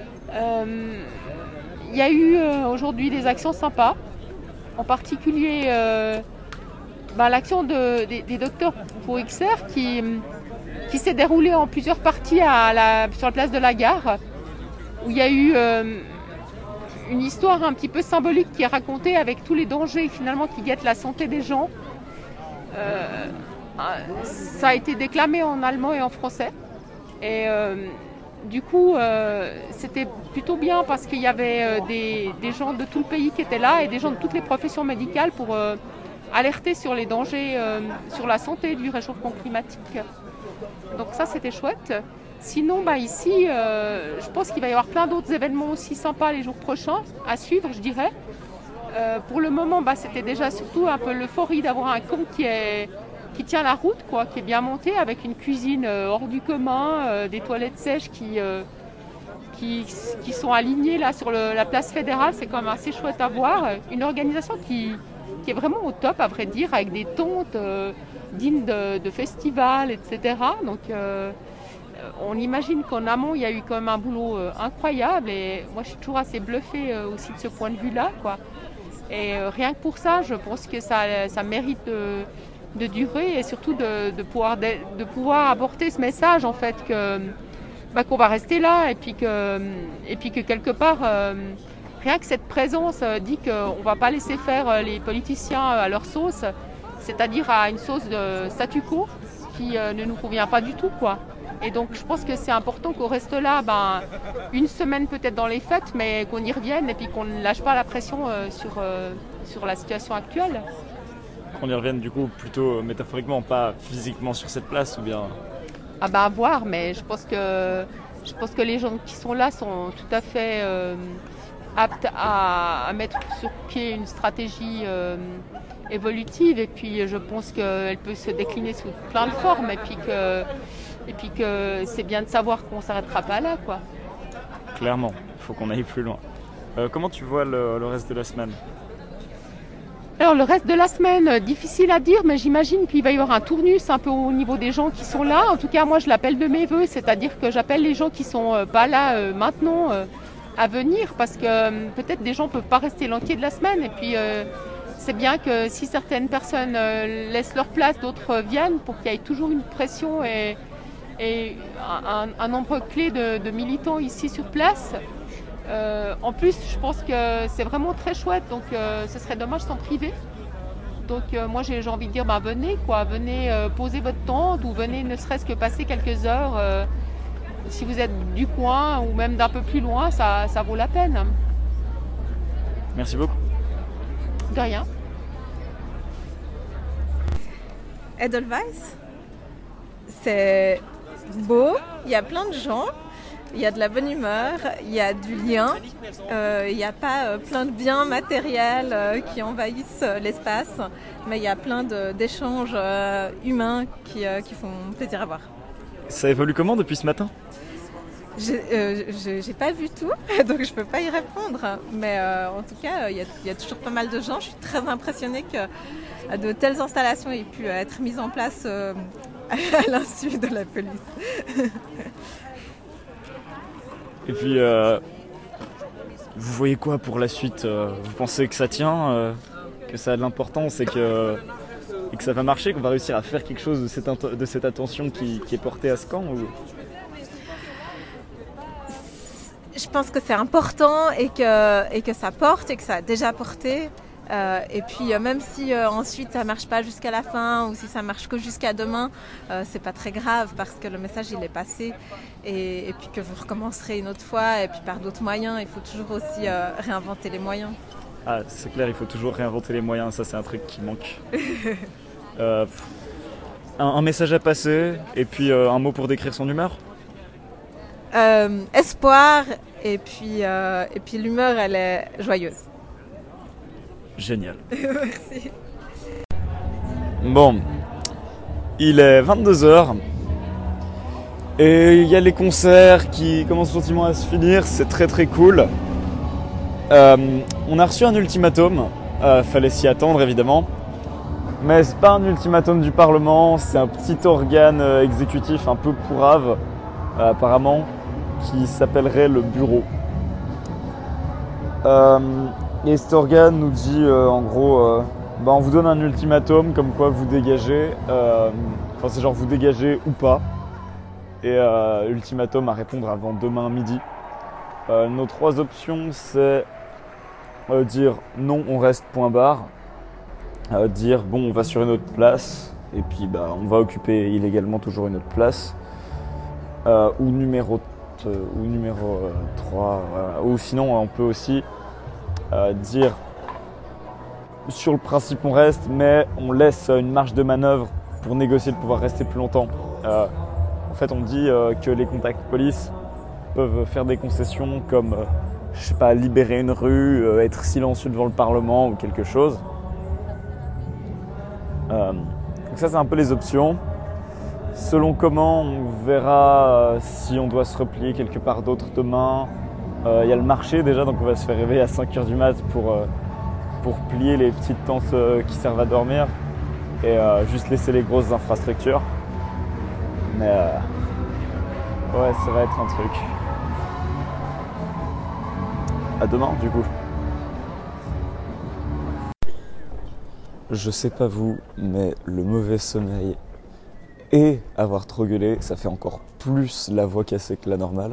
Il y a eu aujourd'hui des actions sympas, en particulier l'action des docteurs pour XR qui s'est déroulée en plusieurs parties sur la place de la gare, où il y a eu une histoire un petit peu symbolique qui est racontée avec tous les dangers finalement qui guettent la santé des gens. Ça a été déclamé en allemand et en français. Et du coup, c'était plutôt bien parce qu'il y avait des gens de tout le pays qui étaient là et des gens de toutes les professions médicales pour alerter sur les dangers sur la santé du réchauffement climatique. Donc ça, c'était chouette. Sinon, ici, je pense qu'il va y avoir plein d'autres événements aussi sympas les jours prochains à suivre, je dirais. Pour le moment, c'était déjà surtout un peu l'euphorie d'avoir un camp qui tient la route, qui est bien monté, avec une cuisine hors du commun, des toilettes sèches qui sont alignées là sur la place fédérale. C'est quand même assez chouette à voir. Une organisation qui est vraiment au top, à vrai dire, avec des tentes dignes de festivals, etc. Donc, on imagine qu'en amont, il y a eu quand même un boulot incroyable. Et moi, je suis toujours assez bluffée aussi de ce point de vue-là, Et rien que pour ça, je pense que ça mérite de durer et surtout de pouvoir apporter ce message en fait qu'on va rester là et puis que quelque part, rien que cette présence dit qu'on ne va pas laisser faire les politiciens à leur sauce, c'est-à-dire à une sauce de statu quo qui ne nous convient pas du tout, quoi. Et donc je pense que c'est important qu'on reste là une semaine peut-être dans les fêtes, mais qu'on y revienne et puis qu'on ne lâche pas la pression sur la situation actuelle. Qu'on y revienne du coup plutôt métaphoriquement, pas physiquement sur cette place ou bien... Ah à voir, mais je pense que les gens qui sont là sont tout à fait aptes à mettre sur pied une stratégie évolutive et puis je pense qu'elle peut se décliner sous plein de formes et puis que c'est bien de savoir qu'on ne s'arrêtera pas là, quoi. Clairement, il faut qu'on aille plus loin. Comment tu vois le reste de la semaine ? Alors le reste de la semaine, difficile à dire, mais j'imagine qu'il va y avoir un tournus un peu au niveau des gens qui sont là. En tout cas, moi je l'appelle de mes voeux, c'est-à-dire que j'appelle les gens qui sont pas là maintenant à venir parce que peut-être des gens ne peuvent pas rester l'entier de la semaine et puis c'est bien que si certaines personnes laissent leur place, d'autres viennent pour qu'il y ait toujours une pression et un nombre clé de militants ici sur place. En plus, je pense que c'est vraiment très chouette, donc ce serait dommage s'en priver. Donc moi j'ai envie de dire, venez poser votre tente ou venez ne serait-ce que passer quelques heures. Si vous êtes du coin ou même d'un peu plus loin, ça vaut la peine. Merci beaucoup. De rien. Edelweiss, c'est beau, il y a plein de gens. Il y a de la bonne humeur, il y a du lien, il n'y a pas plein de biens matériels qui envahissent l'espace, mais il y a plein d'échanges humains qui font plaisir à voir. Ça évolue comment depuis ce matin ? J'ai pas vu tout, donc je peux pas y répondre, mais en tout cas, il y a toujours pas mal de gens. Je suis très impressionnée que de telles installations aient pu être mises en place à l'insu de la police. Et puis, vous voyez quoi pour la suite ? Vous pensez que ça tient, que ça a de l'importance et que ça va marcher, qu'on va réussir à faire quelque chose de cette attention qui est portée à ce camp ou... Je pense que c'est important et que ça porte et que ça a déjà porté. Et puis même si ensuite ça marche pas jusqu'à la fin ou si ça marche que jusqu'à demain, c'est pas très grave parce que le message il est passé et puis que vous recommencerez une autre fois et puis par d'autres moyens. Il faut toujours aussi réinventer les moyens. Ah, c'est clair, il faut toujours réinventer les moyens, ça c'est un truc qui manque. Un message à passer et puis un mot pour décrire son humeur ? Espoir et puis l'humeur elle est joyeuse. Génial. Merci. Bon, il est 22h et il y a les concerts qui commencent gentiment à se finir, c'est très très cool. On a reçu un ultimatum, fallait s'y attendre évidemment, mais c'est pas un ultimatum du Parlement, c'est un petit organe exécutif un peu pourrave apparemment qui s'appellerait le bureau. Et cet organe nous dit en gros, on vous donne un ultimatum comme quoi vous dégagez, c'est genre vous dégagez ou pas, et ultimatum à répondre avant demain midi. Nos 3 options c'est dire non on reste point barre, dire bon on va sur une autre place et puis on va occuper illégalement toujours une autre place, ou numéro 3, ou sinon on peut aussi dire sur le principe on reste mais on laisse une marge de manœuvre pour négocier de pouvoir rester plus longtemps. En fait on dit que les contacts police peuvent faire des concessions comme libérer une rue, être silencieux devant le Parlement ou quelque chose. Donc ça c'est un peu les options. Selon comment on verra si on doit se replier quelque part d'autre demain. Il y a le marché déjà, donc on va se faire réveiller à 5h du mat pour plier les petites tentes qui servent à dormir et juste laisser les grosses infrastructures. Mais ouais, ça va être un truc. À demain du coup. je sais pas vous, mais le mauvais sommeil et avoir trop gueulé, ça fait encore plus la voix cassée que la normale.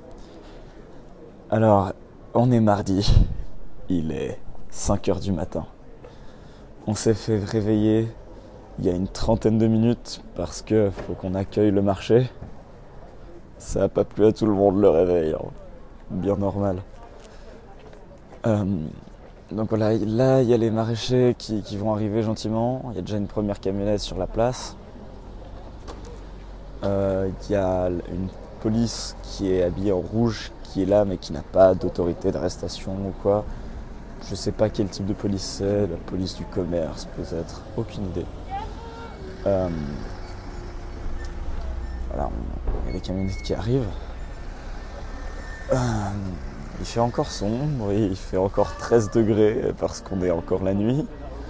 Alors, on est mardi, il est 5h du matin. On s'est fait réveiller il y a une trentaine de minutes parce que faut qu'on accueille le marché. Ça n'a pas plu à tout le monde le réveil, hein. Bien normal. Donc voilà, là il y a les maraîchers qui vont arriver gentiment. Il y a déjà une première camionnette sur la place. Il y a une police qui est habillée en rouge qui est là mais qui n'a pas d'autorité d'arrestation ou quoi. Je sais pas quel type de police c'est, la police du commerce peut-être, aucune idée. Voilà, il y a les camionnettes qui arrivent. Il fait encore sombre, oui, il fait encore 13 degrés parce qu'on est encore la nuit.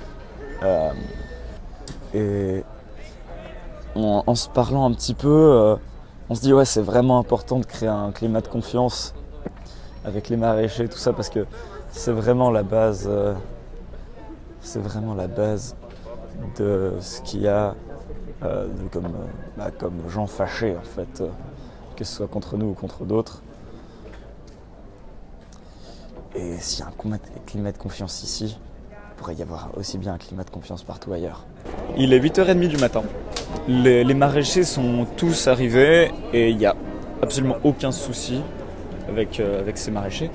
Et en se parlant un petit peu, on se dit ouais, c'est vraiment important de créer un climat de confiance avec les maraîchers, tout ça, parce que c'est vraiment la base. C'est vraiment la base de ce qu'il y a comme gens fâchés en fait, que ce soit contre nous ou contre d'autres. Et s'il y a un climat de confiance ici, il pourrait y avoir aussi bien un climat de confiance partout ailleurs. Il est 8h30 du matin. Les maraîchers sont tous arrivés et il n'y a absolument aucun souci avec ces maraîchers.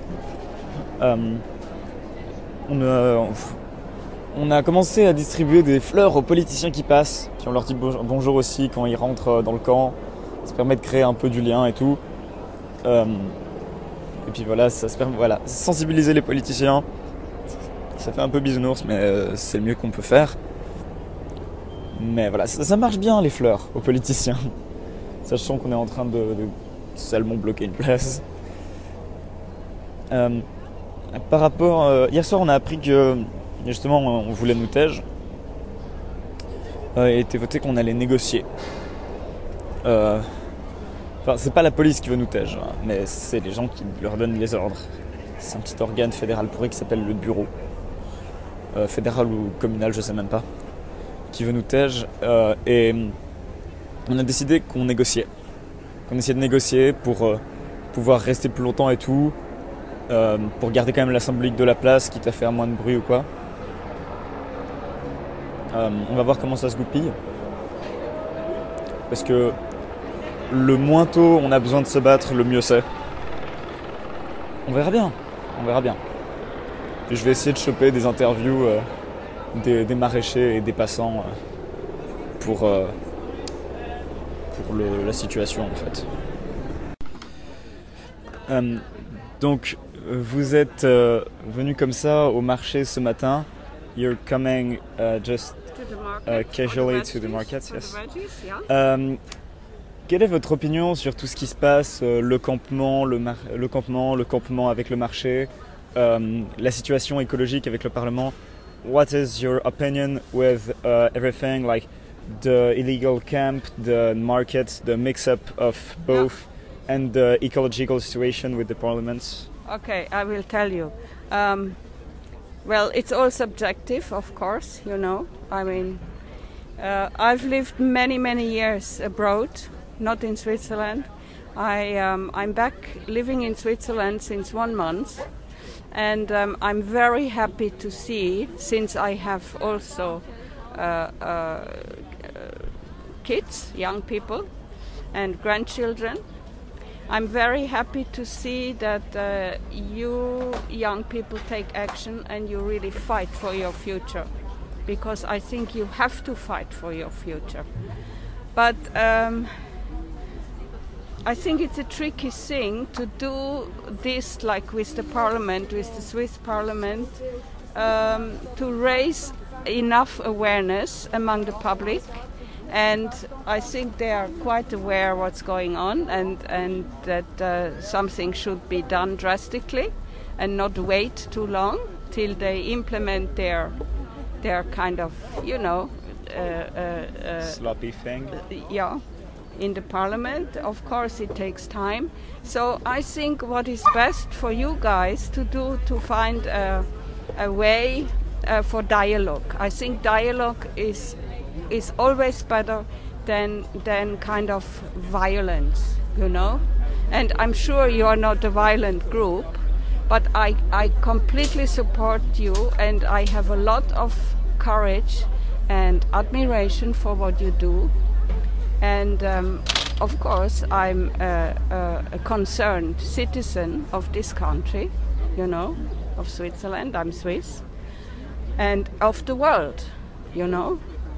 On a commencé à distribuer des fleurs aux politiciens qui passent, puis on leur dit bonjour aussi quand ils rentrent dans le camp. Ça permet de créer un peu du lien et tout. Et puis voilà, ça se permet, sensibiliser les politiciens. Ça fait un peu bisounours, mais c'est le mieux qu'on peut faire. Mais voilà, ça marche bien les fleurs aux politiciens. Sachant qu'on est en train de salement bloquer une place. Par rapport... hier soir, on a appris que, justement, on voulait nous tège. Il a été voté qu'on allait négocier. Enfin, c'est pas la police qui veut nous tège, hein, mais c'est les gens qui leur donnent les ordres. C'est un petit organe fédéral pourri qui s'appelle le bureau. Fédéral ou communal, je sais même pas. Qui veut nous tège. Et on a décidé qu'on négociait. Qu'on essayait de négocier pour pouvoir rester plus longtemps et tout. Pour garder quand même la symbolique de la place, quitte à faire moins de bruit ou quoi. On va voir comment ça se goupille. Parce que le moins tôt on a besoin de se battre, le mieux c'est. On verra bien, on verra bien. Et je vais essayer de choper des interviews des maraîchers et des passants pour la situation en fait. Donc vous êtes venu comme ça au marché ce matin. You're coming just casually to the market, yes. Quelle est votre opinion sur tout ce qui se passe, le campement avec le marché, la situation écologique avec le Parlement? What is your opinion with everything, like the illegal camp, the market, the mix-up of both, and the ecological situation with the Parliament? Okay, I will tell you. Well, it's all subjective, of course, you know. I mean, I've lived many years abroad. Not in Switzerland. I'm back living in Switzerland since 1 month, and I'm very happy to see, since I have also kids, young people, and grandchildren. I'm very happy to see that you young people take action and you really fight for your future, because I think you have to fight for your future. But I think it's a tricky thing to do this, like with the Parliament, with the Swiss Parliament, to raise enough awareness among the public. And I think they are quite aware what's going on, and that something should be done drastically and not wait too long till they implement their kind of, you know, sloppy thing. Yeah. In the Parliament, of course it takes time. So I think what is best for you guys to do, to find a way for dialogue. I think dialogue is always better than kind of violence, you know. And I'm sure you are not a violent group, but I completely support you, and I have a lot of courage and admiration for what you do. And of course, I'm a concerned citizen of this country, you know, of Switzerland. I'm Swiss, and of the world, you know.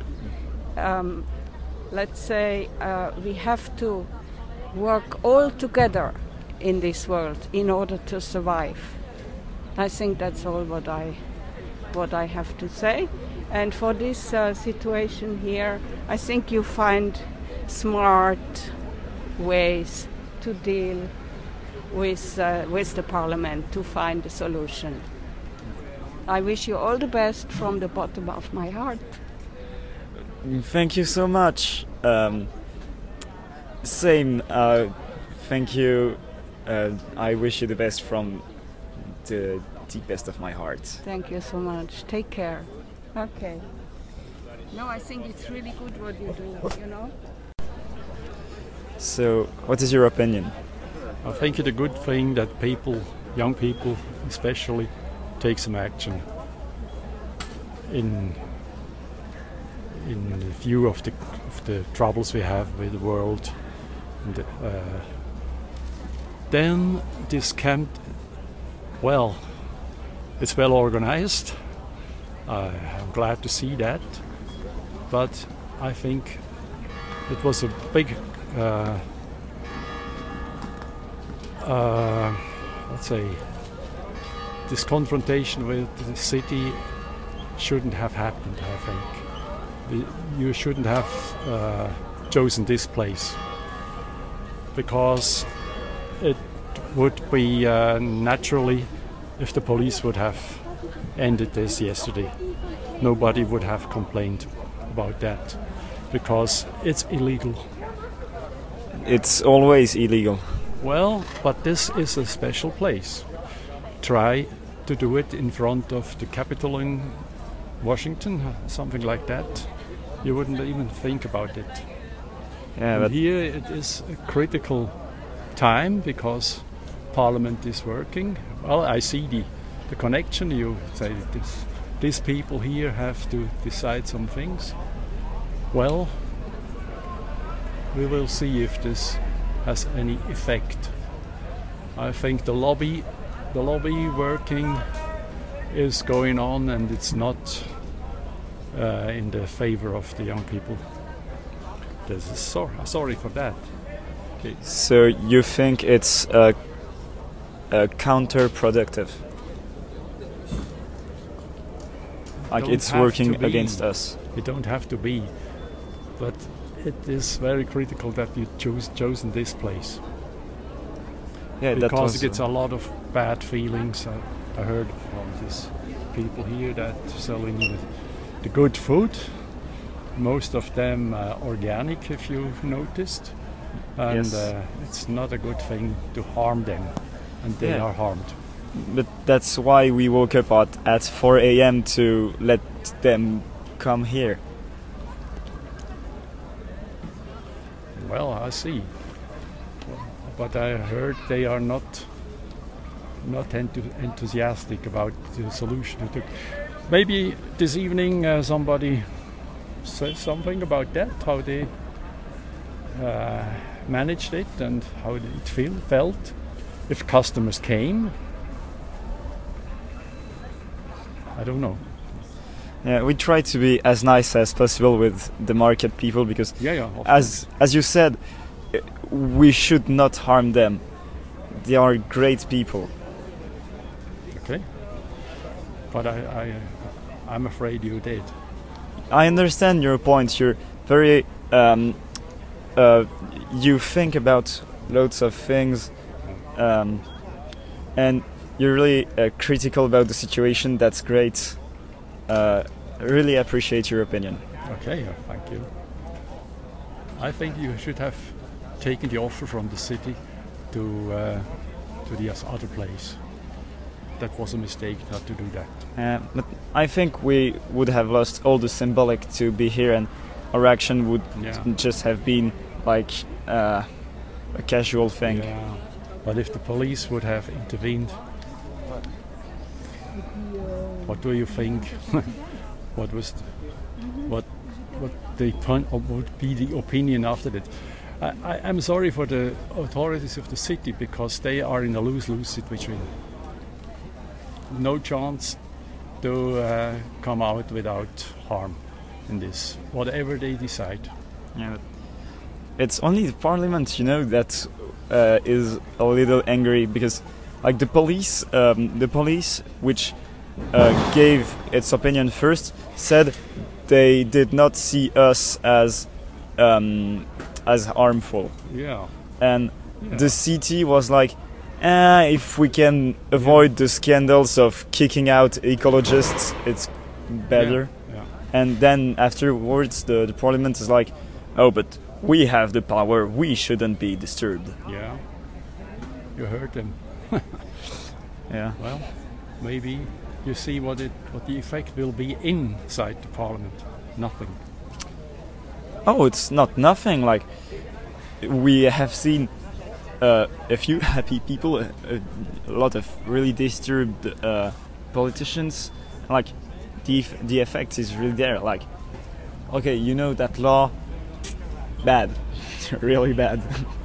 Let's say we have to work all together in this world in order to survive. I think that's all what I have to say. And for this situation here, I think you find smart ways to deal with the Parliament to find a solution. I wish you all the best from the bottom of my heart. Thank you so much. Same. Thank you. I wish you the best from the deepest of my heart. Thank you so much. Take care. Okay. No, I think it's really good what you do, you know. So, what is your opinion? I think it's a good thing that people, young people especially, take some action in view of the troubles we have with the world. And, then this camp, well, it's well organized. I'm glad to see that, but I think it was a big, let's say, this confrontation with the city shouldn't have happened. I think you shouldn't have chosen this place, because it would be naturally, if the police would have ended this yesterday, nobody would have complained about that, because it's illegal. It's always illegal. Well, but this is a special place. Try to do it in front of the Capitol in Washington, something like that. You wouldn't even think about it. Yeah, but here it is a critical time because Parliament is working. Well, I see the connection. You say these people here have to decide some things. Well, we will see if this has any effect. I think the lobby working is going on, and it's not in the favor of the young people. Sorry for that. Okay. So you think it's counterproductive? Like it's working against us? It don't have to be, but it is very critical that you chosen this place. Yeah, because it gets a lot of bad feelings. I heard from these people here that selling the good food, most of them organic, if you've noticed, and yes. It's not a good thing to harm them, and they are harmed. But that's why we woke up at 4 a.m. to let them come here. Well, I see. But I heard they are not enthusiastic about the solution. Maybe this evening somebody says something about that, how they managed it and how it felt. If customers came, I don't know. Yeah, we try to be as nice as possible with the market people because, as you said, we should not harm them. They are great people. Okay, but I'm afraid you did. I understand your point. You're very you think about loads of things, and you're really critical about the situation. That's great. I really appreciate your opinion. Okay, thank you. I think you should have taken the offer from the city to the other place. that was a mistake not to do that. But I think we would have lost all the symbolic to be here, and our action would just have been like a casual thing. Yeah. But if the police would have intervened, what do you think? What would be the opinion after that? I'm sorry for the authorities of the city, because they are in a lose-lose situation. No chance to come out without harm in this, whatever they decide. Yeah, it's only the parliament, you know, that is a little angry, because like the police, which gave its opinion first, said they did not see us as harmful. Yeah. And the city was like, if we can avoid the scandals of kicking out ecologists, it's better. Yeah. And then afterwards, the parliament is like, oh, but we have the power, we shouldn't be disturbed. Yeah. You heard them. Yeah. Well, maybe you see what the effect will be inside the parliament. Nothing. Oh, it's not nothing. Like, we have seen a few happy people, a lot of really disturbed politicians. Like, the effect is really there. Like, okay, you know that law, bad, really bad.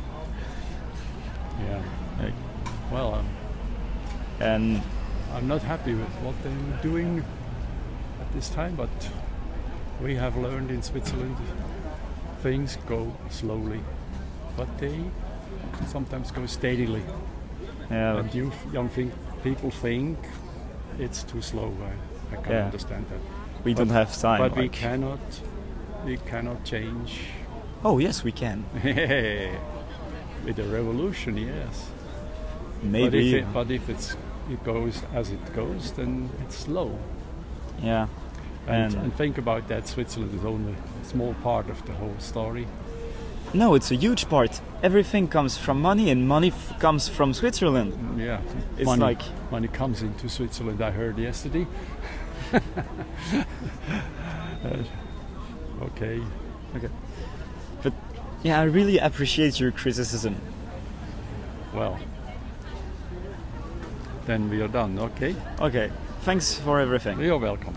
Yeah. Like, well, and I'm not happy with what they're doing at this time, but we have learned in Switzerland things go slowly, but they sometimes go steadily. Yeah. And young people think it's too slow. I can understand that. We don't have time. But like. we cannot change. Oh yes, we can. With a revolution, yes. Maybe. But if it goes as it goes, then it's slow. Yeah. And think about that, Switzerland is only a small part of the whole story. No, it's a huge part. Everything comes from money, and money comes from Switzerland. Yeah, it's money comes into Switzerland, I heard yesterday. Okay. But yeah, I really appreciate your criticism. Well, then we are done, okay? Okay, thanks for everything. You're welcome.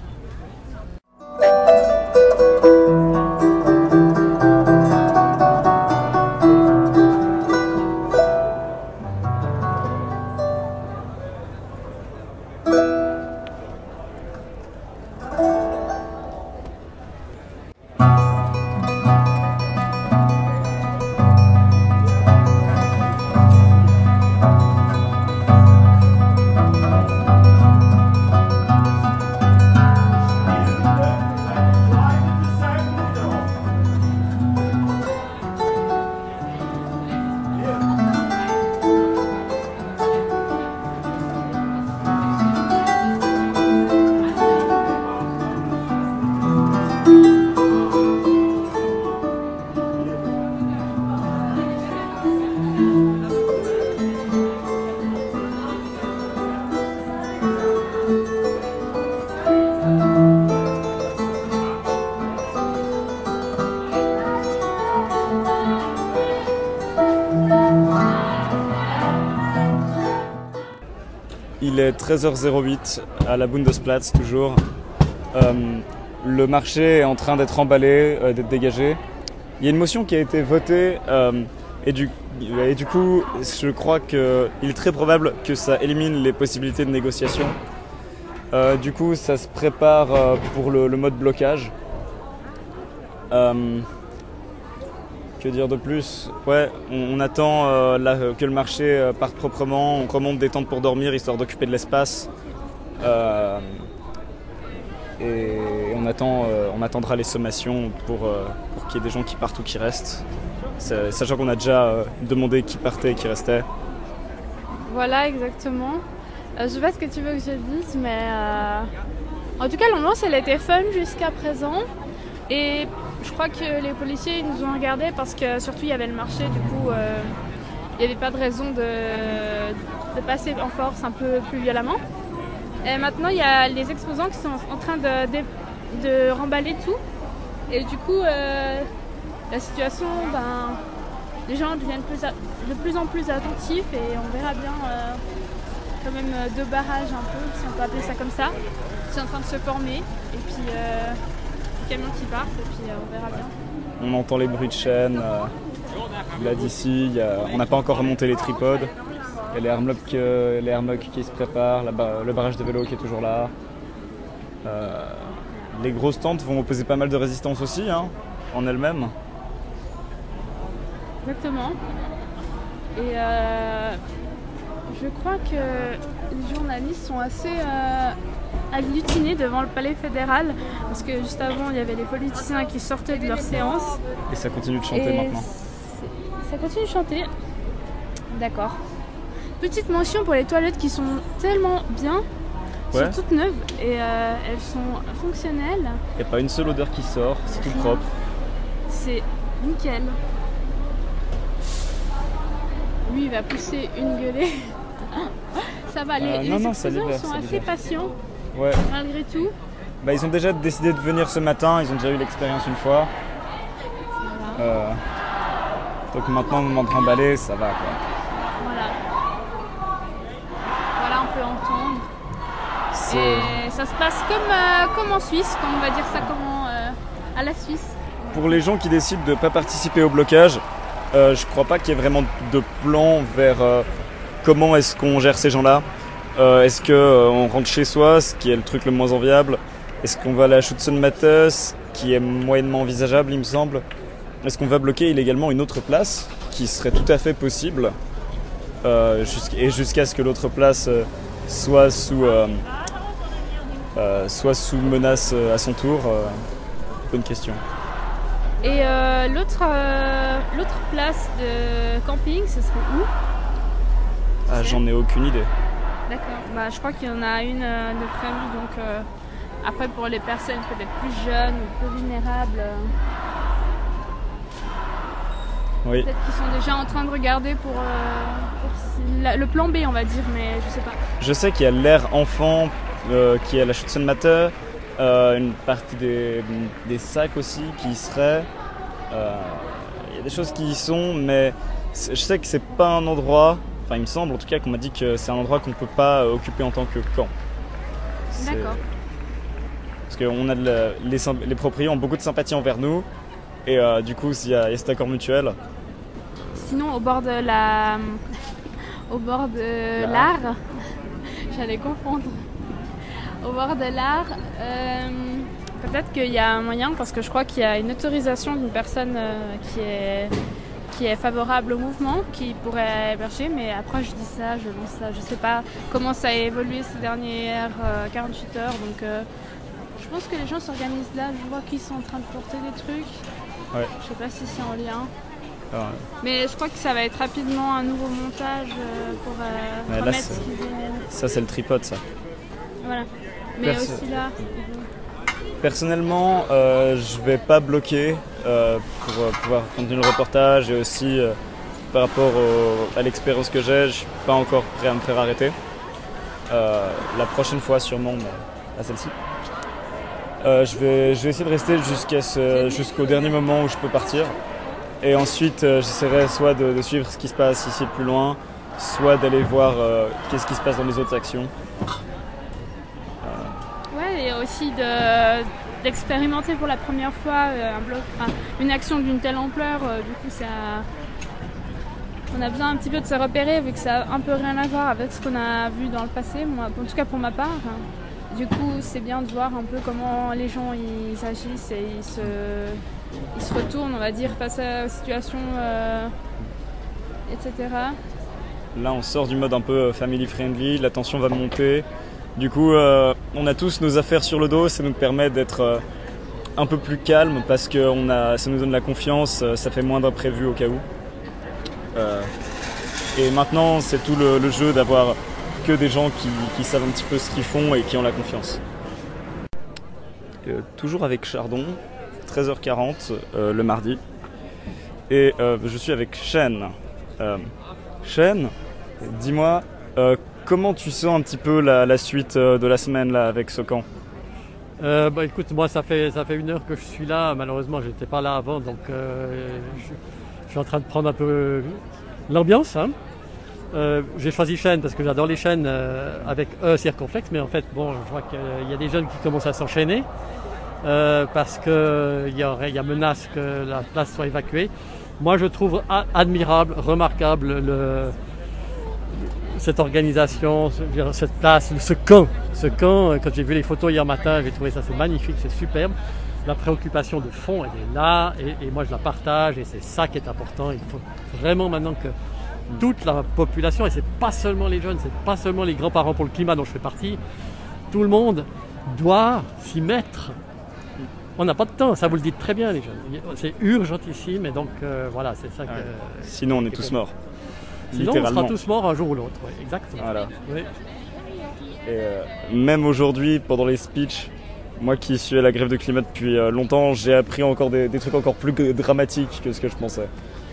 Il est 13h08 à la Bundesplatz toujours. Le marché est en train d'être emballé, d'être dégagé. Il y a une motion qui a été votée et du coup je crois qu'il est très probable que ça élimine les possibilités de négociation. Du coup ça se prépare pour le mode blocage. Que dire de plus? Ouais, on attend que le marché parte proprement, on remonte des tentes pour dormir histoire d'occuper de l'espace. Et on attendra les sommations pour qu'il y ait des gens qui partent ou qui restent. Sachant qu'on a déjà demandé qui partait et qui restait. Voilà, exactement. Je sais pas ce que tu veux que je dise, mais en tout cas l'ambiance elle était fun jusqu'à présent. Et je crois que les policiers nous ont regardés parce que surtout il y avait le marché, du coup il n'y avait pas de raison de passer en force un peu plus violemment. Et maintenant, il y a les exposants qui sont en train de remballer tout. Et du coup, la situation, les gens deviennent de plus en plus attentifs et on verra bien quand même 2 barrages un peu, si on peut appeler ça comme ça. C'est en train de se former et puis les camions qui partent et puis on verra bien. On entend les bruits de chaîne. Là d'ici, on n'a pas encore remonté les tripodes. Il y a les airmocks qui se préparent, le barrage de vélo qui est toujours là. Les grosses tentes vont opposer pas mal de résistance aussi, en elles-mêmes. Exactement. Et je crois que les journalistes sont assez agglutinés devant le palais fédéral parce que juste avant il y avait les politiciens qui sortaient de leur séance. Et ça continue de chanter maintenant. Ça continue de chanter. D'accord. Petite mention pour les toilettes qui sont tellement bien. Elles sont toutes neuves et elles sont fonctionnelles. Il n'y a pas une seule odeur qui sort, c'est tout propre. C'est nickel. Lui, il va pousser une gueulée. Ça va, les exposants sont assez patients, malgré tout. Ils ont déjà décidé de venir ce matin, ils ont déjà eu l'expérience une fois. Voilà. Donc maintenant, au moment de remballer, ça va, quoi. Voilà, on peut entendre. Et ça se passe comme en Suisse, comme on va dire ça à la Suisse. Pour les gens qui décident de ne pas participer au blocage, je crois pas qu'il y ait vraiment de plan vers comment est-ce qu'on gère ces gens-là. Est-ce qu'on rentre chez soi, ce qui est le truc le moins enviable? Est-ce qu'on va à la Schützenmatte, ce qui est moyennement envisageable, il me semble? Est-ce qu'on va bloquer illégalement une autre place, qui serait tout à fait possible, jusqu'à ce que l'autre place soit sous menace à son tour? Bonne question. Et l'autre place de camping, ce serait où? J'en ai aucune idée. D'accord. Je crois qu'il y en a une de prévue, donc après pour les personnes peut-être plus jeunes ou plus vulnérables. Oui. Peut-être qu'ils sont déjà en train de regarder pour le plan B, on va dire, mais je sais pas. Je sais qu'il y a l'aire enfant qui est à la Schützenmatte, une partie des sacs aussi qui y seraient. Il y a des choses qui y sont, mais je sais que c'est pas un endroit, enfin il me semble en tout cas qu'on m'a dit que c'est un endroit qu'on ne peut pas occuper en tant que camp. D'accord. Parce que les propriétaires ont beaucoup de sympathie envers nous, et du coup il y a cet accord mutuel. Sinon au bord de l'Ar, j'allais confondre. Au bord de l'Ar, peut-être qu'il y a un moyen, parce que je crois qu'il y a une autorisation d'une personne qui est favorable au mouvement, qui pourrait héberger, mais après je dis ça, je lance ça, je sais pas comment ça a évolué ces dernières 48 heures, donc je pense que les gens s'organisent là, je vois qu'ils sont en train de porter des trucs, je sais pas si c'est en lien. Mais je crois que ça va être rapidement un nouveau montage pour remettre ce qu'ils viennent. Ça c'est le tripode, ça. Voilà. Mais aussi là. Personnellement, je vais pas bloquer pour pouvoir continuer le reportage, et aussi par rapport à l'expérience que j'ai, je suis pas encore prêt à me faire arrêter. La prochaine fois sûrement, mais à celle-ci. Je vais essayer de rester jusqu'au dernier moment où je peux partir. Et ensuite, j'essaierai soit de suivre ce qui se passe ici plus loin, soit d'aller voir qu'est-ce qui se passe dans les autres actions. Et aussi d'expérimenter pour la première fois une action d'une telle ampleur. Du coup, on a besoin un petit peu de se repérer, vu que ça a un peu rien à voir avec ce qu'on a vu dans le passé, moi, en tout cas pour ma part. Du coup, c'est bien de voir un peu comment les gens ils agissent et ils se retournent, on va dire, face à la situation, etc. Là, on sort du mode un peu family friendly, la tension va monter. Du coup, on a tous nos affaires sur le dos, ça nous permet d'être un peu plus calme parce que ça nous donne la confiance, ça fait moins d'imprévus au cas où. Et maintenant, c'est tout le jeu d'avoir que des gens qui savent un petit peu ce qu'ils font et qui ont la confiance. Toujours avec Chardon, 13h40 le mardi. Et je suis avec Shen. Shen, dis-moi, Comment tu sens un petit peu la suite de la semaine là, avec ce camp? Écoute, moi ça fait 1 heure que je suis là, malheureusement j'étais pas là avant, donc je suis en train de prendre un peu l'ambiance. Hein. J'ai choisi chêne parce que j'adore les chênes avec circonflexe, mais en fait bon, je vois qu'il y a des jeunes qui commencent à s'enchaîner parce qu'il y a menace que la place soit évacuée. Moi je trouve admirable, remarquable cette organisation, cette place, ce camp, quand j'ai vu les photos hier matin, j'ai trouvé ça c'est magnifique, c'est superbe. La préoccupation de fond, elle est là, et moi je la partage, et c'est ça qui est important. Il faut vraiment maintenant que toute la population, et c'est pas seulement les jeunes, c'est pas seulement les grands-parents pour le climat dont je fais partie, tout le monde doit s'y mettre. On n'a pas de temps, ça vous le dites très bien les jeunes. C'est urgentissime, et donc voilà, c'est ça que... Sinon on est tous morts. Sinon, on sera tous morts un jour ou l'autre, oui, exactement. Voilà. Oui. Et même aujourd'hui, pendant les speeches, moi qui suis à la grève de climat depuis longtemps, j'ai appris encore des trucs encore plus dramatiques que ce que je pensais.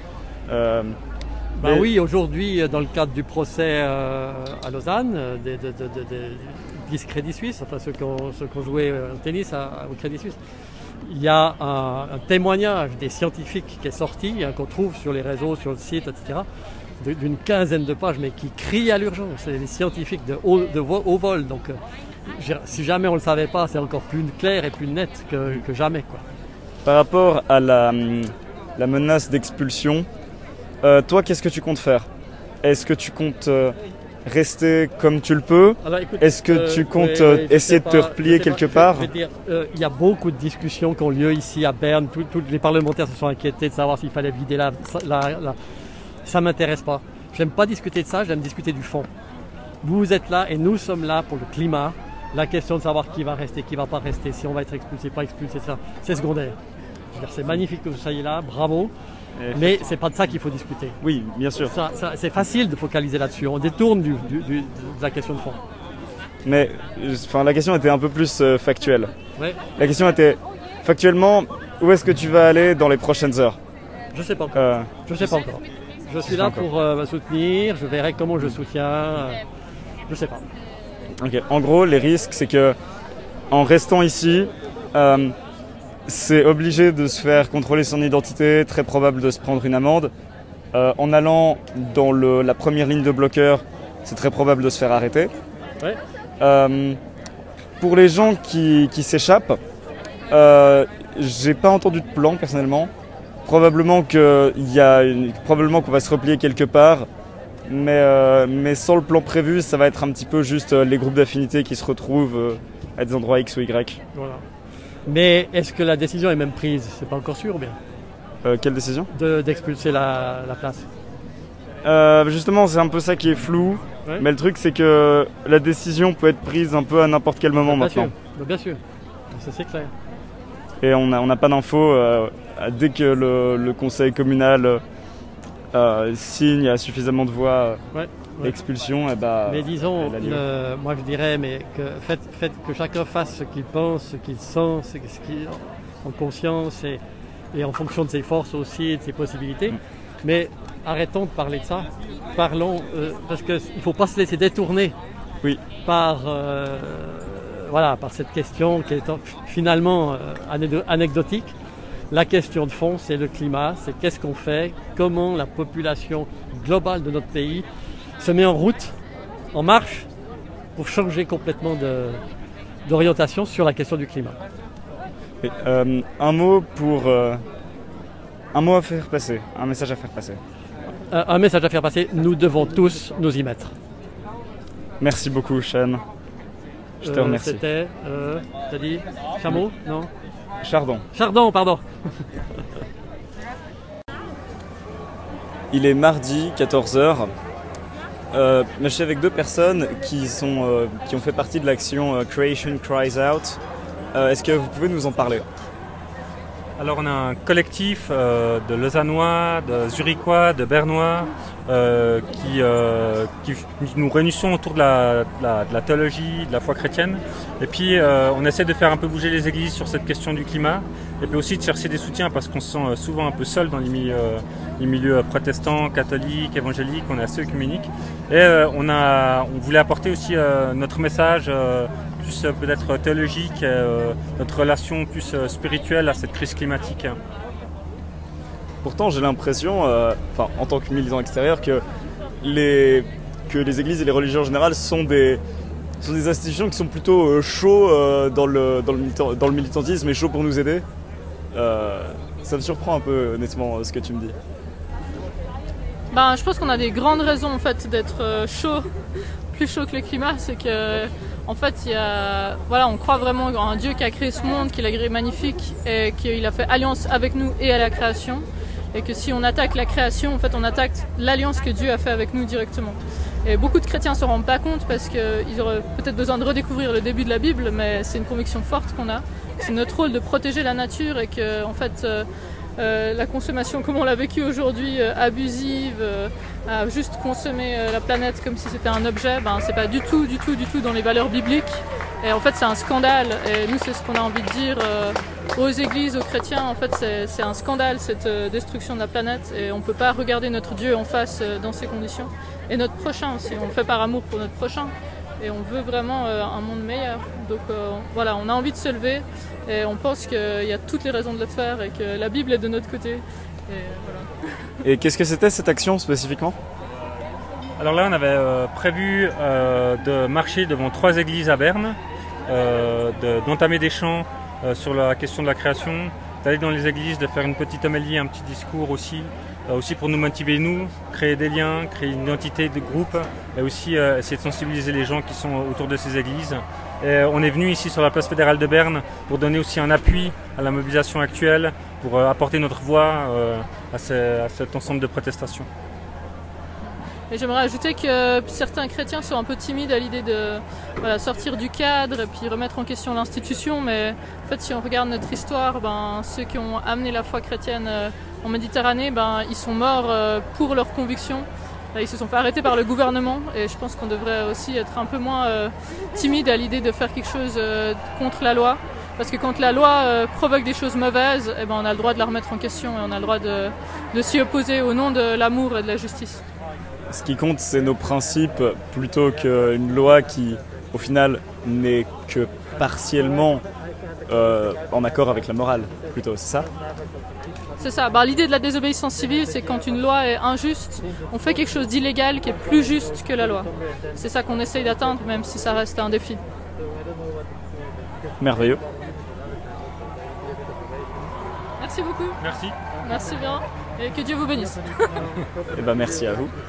Oui, aujourd'hui, dans le cadre du procès à Lausanne, des Crédit Suisse, enfin ceux qui ont joué au tennis au Crédit Suisse, il y a un témoignage des scientifiques qui est sorti, hein, qu'on trouve sur les réseaux, sur le site, etc., d'une quinzaine de pages, mais qui crient à l'urgence. C'est des scientifiques de haut vol. Donc, si jamais on ne le savait pas, c'est encore plus clair et plus net que jamais, quoi. Par rapport à la menace d'expulsion, toi, qu'est-ce que tu comptes faire? Est-ce que tu comptes rester comme tu le peux? Est-ce que tu comptes essayer de te replier quelque part? Je veux dire, il y a beaucoup de discussions qui ont lieu ici à Berne. Tous les parlementaires se sont inquiétés de savoir s'il fallait vider ça ne m'intéresse pas. Je n'aime pas discuter de ça, j'aime discuter du fond. Vous êtes là et nous sommes là pour le climat. La question de savoir qui va rester, qui ne va pas rester, si on va être expulsé, pas expulsé, ça, c'est secondaire. C'est magnifique que vous soyez là, bravo. Mais c'est pas de ça qu'il faut discuter. Oui, bien sûr. C'est facile de focaliser là-dessus. On détourne de la question de fond. Mais la question était un peu plus factuelle. Ouais. La question était, factuellement, où est-ce que tu vas aller dans les prochaines heures? Je ne sais pas encore. Je sais pas encore. Je suis là pour me soutenir, je verrai comment je soutiens, je sais pas. Ok. En gros, les risques, c'est que en restant ici, c'est obligé de se faire contrôler son identité, très probable de se prendre une amende. En allant dans la première ligne de bloqueurs, c'est très probable de se faire arrêter. Ouais. Pour les gens qui s'échappent, j'ai pas entendu de plan personnellement. Probablement qu'on va se replier quelque part, mais sans le plan prévu, ça va être un petit peu juste les groupes d'affinité qui se retrouvent à des endroits X ou Y. Voilà. Mais est-ce que la décision est même prise? C'est pas encore sûr ou bien? Quelle décision? D'expulser la place. Justement, c'est un peu ça qui est flou, ouais. Mais le truc c'est que la décision peut être prise un peu à n'importe quel moment maintenant. Bien sûr, ça c'est clair. Et on n'a pas d'infos. Dès que le conseil communal signe à suffisamment de voix expulsion, mais disons, moi je dirais, faites que chacun fasse ce qu'il pense, ce qu'il sent, ce qu'il en conscience et en fonction de ses forces aussi et de ses possibilités. Mais arrêtons de parler de ça. Parlons, parce qu'il ne faut pas se laisser détourner par cette question qui est finalement anecdotique. La question de fond, c'est le climat, c'est qu'est-ce qu'on fait, comment la population globale de notre pays se met en route, en marche, pour changer complètement d'orientation sur la question du climat. Et, un mot à faire passer, un message à faire passer. Un message à faire passer, nous devons tous nous y mettre. Merci beaucoup, Sean. Je te remercie. C'était, t'as dit Chameau? Non. Chardon, pardon. Il est mardi, 14h. Mais je suis avec deux personnes qui ont fait partie de l'action Creation Cries Out. Est-ce que vous pouvez nous en parler? Alors on a un collectif de Lausannois, de Zurichois, de Bernois, qui nous réunissons autour de la théologie, de la foi chrétienne. Et puis on essaie de faire un peu bouger les églises sur cette question du climat. Et puis aussi de chercher des soutiens parce qu'on se sent souvent un peu seul dans les milieux protestants, catholiques, évangéliques, on est assez œcuménique. Et on voulait apporter aussi notre message plus peut-être théologique, notre relation plus spirituelle à cette crise climatique. Pourtant, j'ai l'impression, en tant que militant extérieur, que les églises et les religions en général sont des institutions qui sont plutôt chauds dans le militantisme et chauds pour nous aider. Ça me surprend un peu, honnêtement, ce que tu me dis. Je pense qu'on a des grandes raisons en fait d'être chaud, plus chaud que le climat. C'est que en fait, on croit vraiment en un Dieu qui a créé ce monde, qu'il a créé magnifique et qu'il a fait alliance avec nous et à la création. Et que si on attaque la création, en fait, on attaque l'alliance que Dieu a fait avec nous directement. Et beaucoup de chrétiens ne se rendent pas compte parce qu'ils auraient peut-être besoin de redécouvrir le début de la Bible, mais c'est une conviction forte qu'on a. C'est notre rôle de protéger la nature et que, en fait, la consommation, comme on l'a vécu aujourd'hui, abusive, à juste consommer la planète comme si c'était un objet, c'est pas du tout dans les valeurs bibliques. Et en fait, c'est un scandale. Et nous, c'est ce qu'on a envie de dire aux églises, aux chrétiens. En fait, c'est un scandale, cette destruction de la planète. Et on peut pas regarder notre Dieu en face dans ces conditions. Et notre prochain aussi. On le fait par amour pour notre prochain. Et on veut vraiment un monde meilleur. Donc on a envie de se lever. Et on pense qu'il y a toutes les raisons de le faire et que la Bible est de notre côté. Et voilà. Et qu'est-ce que c'était cette action spécifiquement ? Alors là, on avait prévu de marcher devant 3 églises à Berne, d'entamer des chants sur la question de la création, d'aller dans les églises, de faire une petite homélie, un petit discours aussi pour nous motiver, créer des liens, créer une identité de groupe, et aussi essayer de sensibiliser les gens qui sont autour de ces églises. Et on est venu ici sur la place fédérale de Berne pour donner aussi un appui à la mobilisation actuelle, pour apporter notre voix à cet ensemble de protestations. Et j'aimerais ajouter que certains chrétiens sont un peu timides à l'idée de sortir du cadre et puis remettre en question l'institution. Mais en fait, si on regarde notre histoire, ceux qui ont amené la foi chrétienne en Méditerranée, ils sont morts pour leurs convictions. Ils se sont fait arrêter par le gouvernement et je pense qu'on devrait aussi être un peu moins timide à l'idée de faire quelque chose contre la loi. Parce que quand la loi provoque des choses mauvaises, on a le droit de la remettre en question et on a le droit de s'y opposer au nom de l'amour et de la justice. Ce qui compte, c'est nos principes plutôt qu'une loi qui, au final, n'est que partiellement en accord avec la morale, plutôt, c'est ça ? C'est ça. L'idée de la désobéissance civile, c'est quand une loi est injuste, on fait quelque chose d'illégal qui est plus juste que la loi. C'est ça qu'on essaye d'atteindre, même si ça reste un défi. Merveilleux. Merci beaucoup. Merci. Merci bien. Et que Dieu vous bénisse. Merci à vous.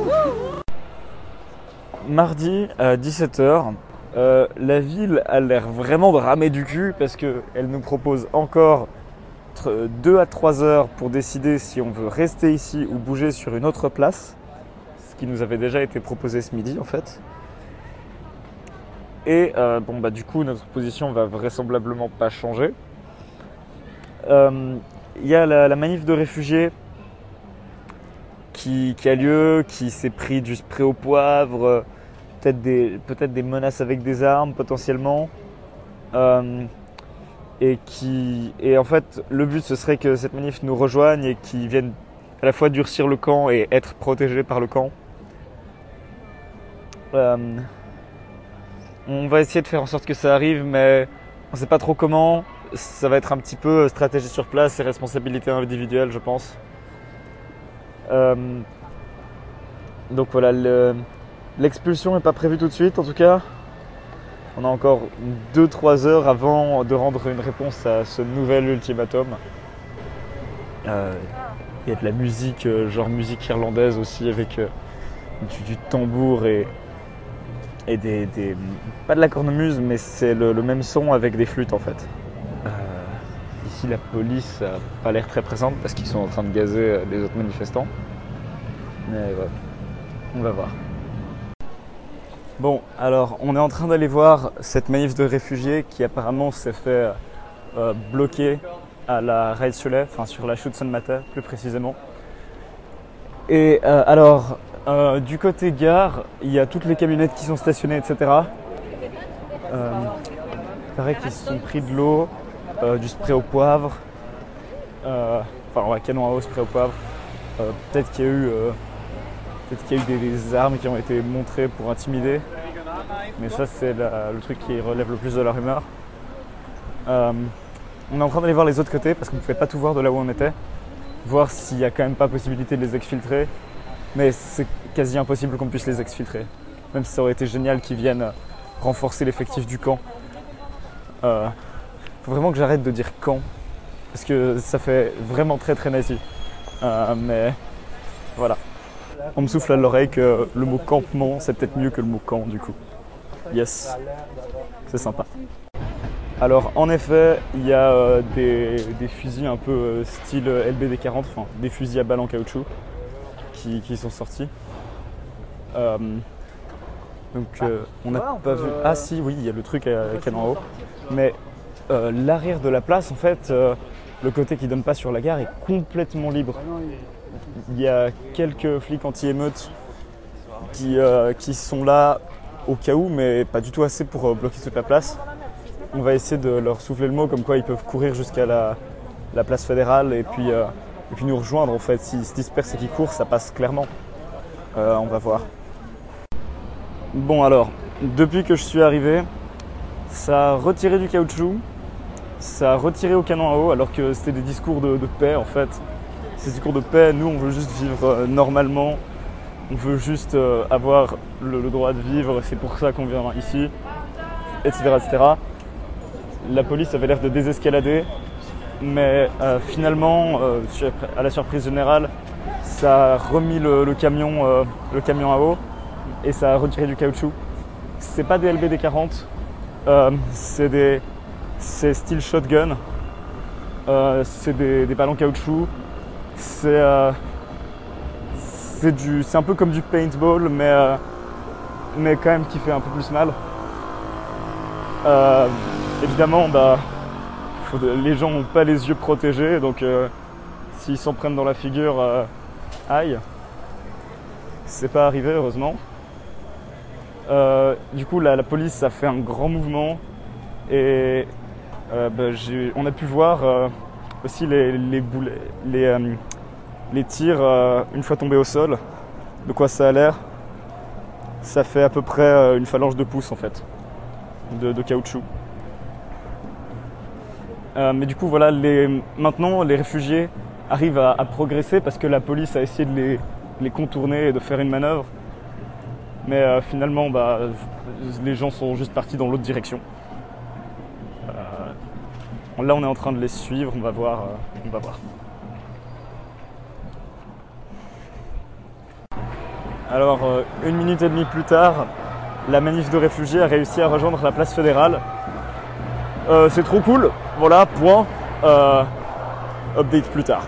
Mardi à 17 h, la ville a l'air vraiment de ramer du cul parce qu'elle nous propose encore 2 à 3 heures pour décider si on veut rester ici ou bouger sur une autre place, ce qui nous avait déjà été proposé ce midi en fait. Et du coup notre position va vraisemblablement pas changer. Il y a la manif de réfugiés qui a lieu, qui s'est pris du spray au poivre, peut-être des menaces avec des armes potentiellement. Et en fait le but ce serait que cette manif nous rejoigne et qu'ils viennent à la fois durcir le camp et être protégés par le camp. On va essayer de faire en sorte que ça arrive, mais on ne sait pas trop comment. Ça va être un petit peu stratégie sur place et responsabilité individuelle, je pense. Donc voilà, l'expulsion n'est pas prévue tout de suite en tout cas. On a encore 2-3 heures avant de rendre une réponse à ce nouvel ultimatum. Il y a de la musique, genre musique irlandaise aussi, avec du tambour et pas de la cornemuse, mais c'est le même son avec des flûtes en fait. Ici la police n'a pas l'air très présente parce qu'ils sont en train de gazer les autres manifestants. Mais ouais, on va voir. Bon, alors on est en train d'aller voir cette manif de réfugiés qui apparemment s'est fait bloquer à la Rijsselais, enfin sur la Schützenmatte plus précisément. Et du côté gare, il y a toutes les camionnettes qui sont stationnées, etc. Il paraît qu'ils se sont pris de l'eau, du spray au poivre, canon à eau, spray au poivre. Peut-être qu'il y a eu des armes qui ont été montrées pour intimider, mais ça c'est le truc qui relève le plus de la rumeur. On est en train d'aller voir les autres côtés parce qu'on ne pouvait pas tout voir de là où on était, voir s'il n'y a quand même pas possibilité de les exfiltrer, mais c'est quasi impossible qu'on puisse les exfiltrer, même si ça aurait été génial qu'ils viennent renforcer l'effectif du camp. Faut vraiment que j'arrête de dire camp, parce que ça fait vraiment très très nazi, mais voilà. On me souffle à l'oreille que le mot campement c'est peut-être mieux que le mot camp du coup. Yes, c'est sympa. Alors en effet, il y a des fusils un peu style LBD-40, enfin des fusils à balles en caoutchouc qui sont sortis. On n'a pas vu... Ah si, oui, il y a le truc à canon à eau. Mais l'arrière de la place, en fait, le côté qui donne pas sur la gare est complètement libre. Il y a quelques flics anti-émeutes qui sont là au cas où, mais pas du tout assez pour bloquer toute la place. On va essayer de leur souffler le mot, comme quoi ils peuvent courir jusqu'à la place fédérale et puis nous rejoindre en fait. S'ils se dispersent et qu'ils courent, ça passe clairement. On va voir. Bon alors, depuis que je suis arrivé, ça a retiré du caoutchouc, ça a retiré au canon à eau, alors que c'était des discours de paix en fait. Ces discours de paix, nous on veut juste vivre normalement, on veut juste avoir le droit de vivre, c'est pour ça qu'on vient ici, etc., etc. La police avait l'air de désescalader, mais finalement, à la surprise générale, ça a remis le camion à eau et ça a retiré du caoutchouc. C'est pas des LBD-40, c'est style shotgun, c'est des ballons caoutchouc. C'est un peu comme du paintball, mais quand même qui fait un peu plus mal. Évidemment, les gens n'ont pas les yeux protégés, donc s'ils s'en prennent dans la figure, aïe. C'est pas arrivé, heureusement. Du coup, la police a fait un grand mouvement et on a pu voir aussi les tirs une fois tombés au sol. De quoi ça a l'air? Ça fait à peu près une phalange de pouce en fait, de caoutchouc. Mais du coup voilà, maintenant les réfugiés arrivent à progresser parce que la police a essayé de les contourner et de faire une manœuvre. Mais finalement les gens sont juste partis dans l'autre direction. Là on est en train de les suivre, on va voir. Alors, 1 minute et demie plus tard, la manif de réfugiés a réussi à rejoindre la place fédérale. C'est trop cool, voilà, point. Update plus tard.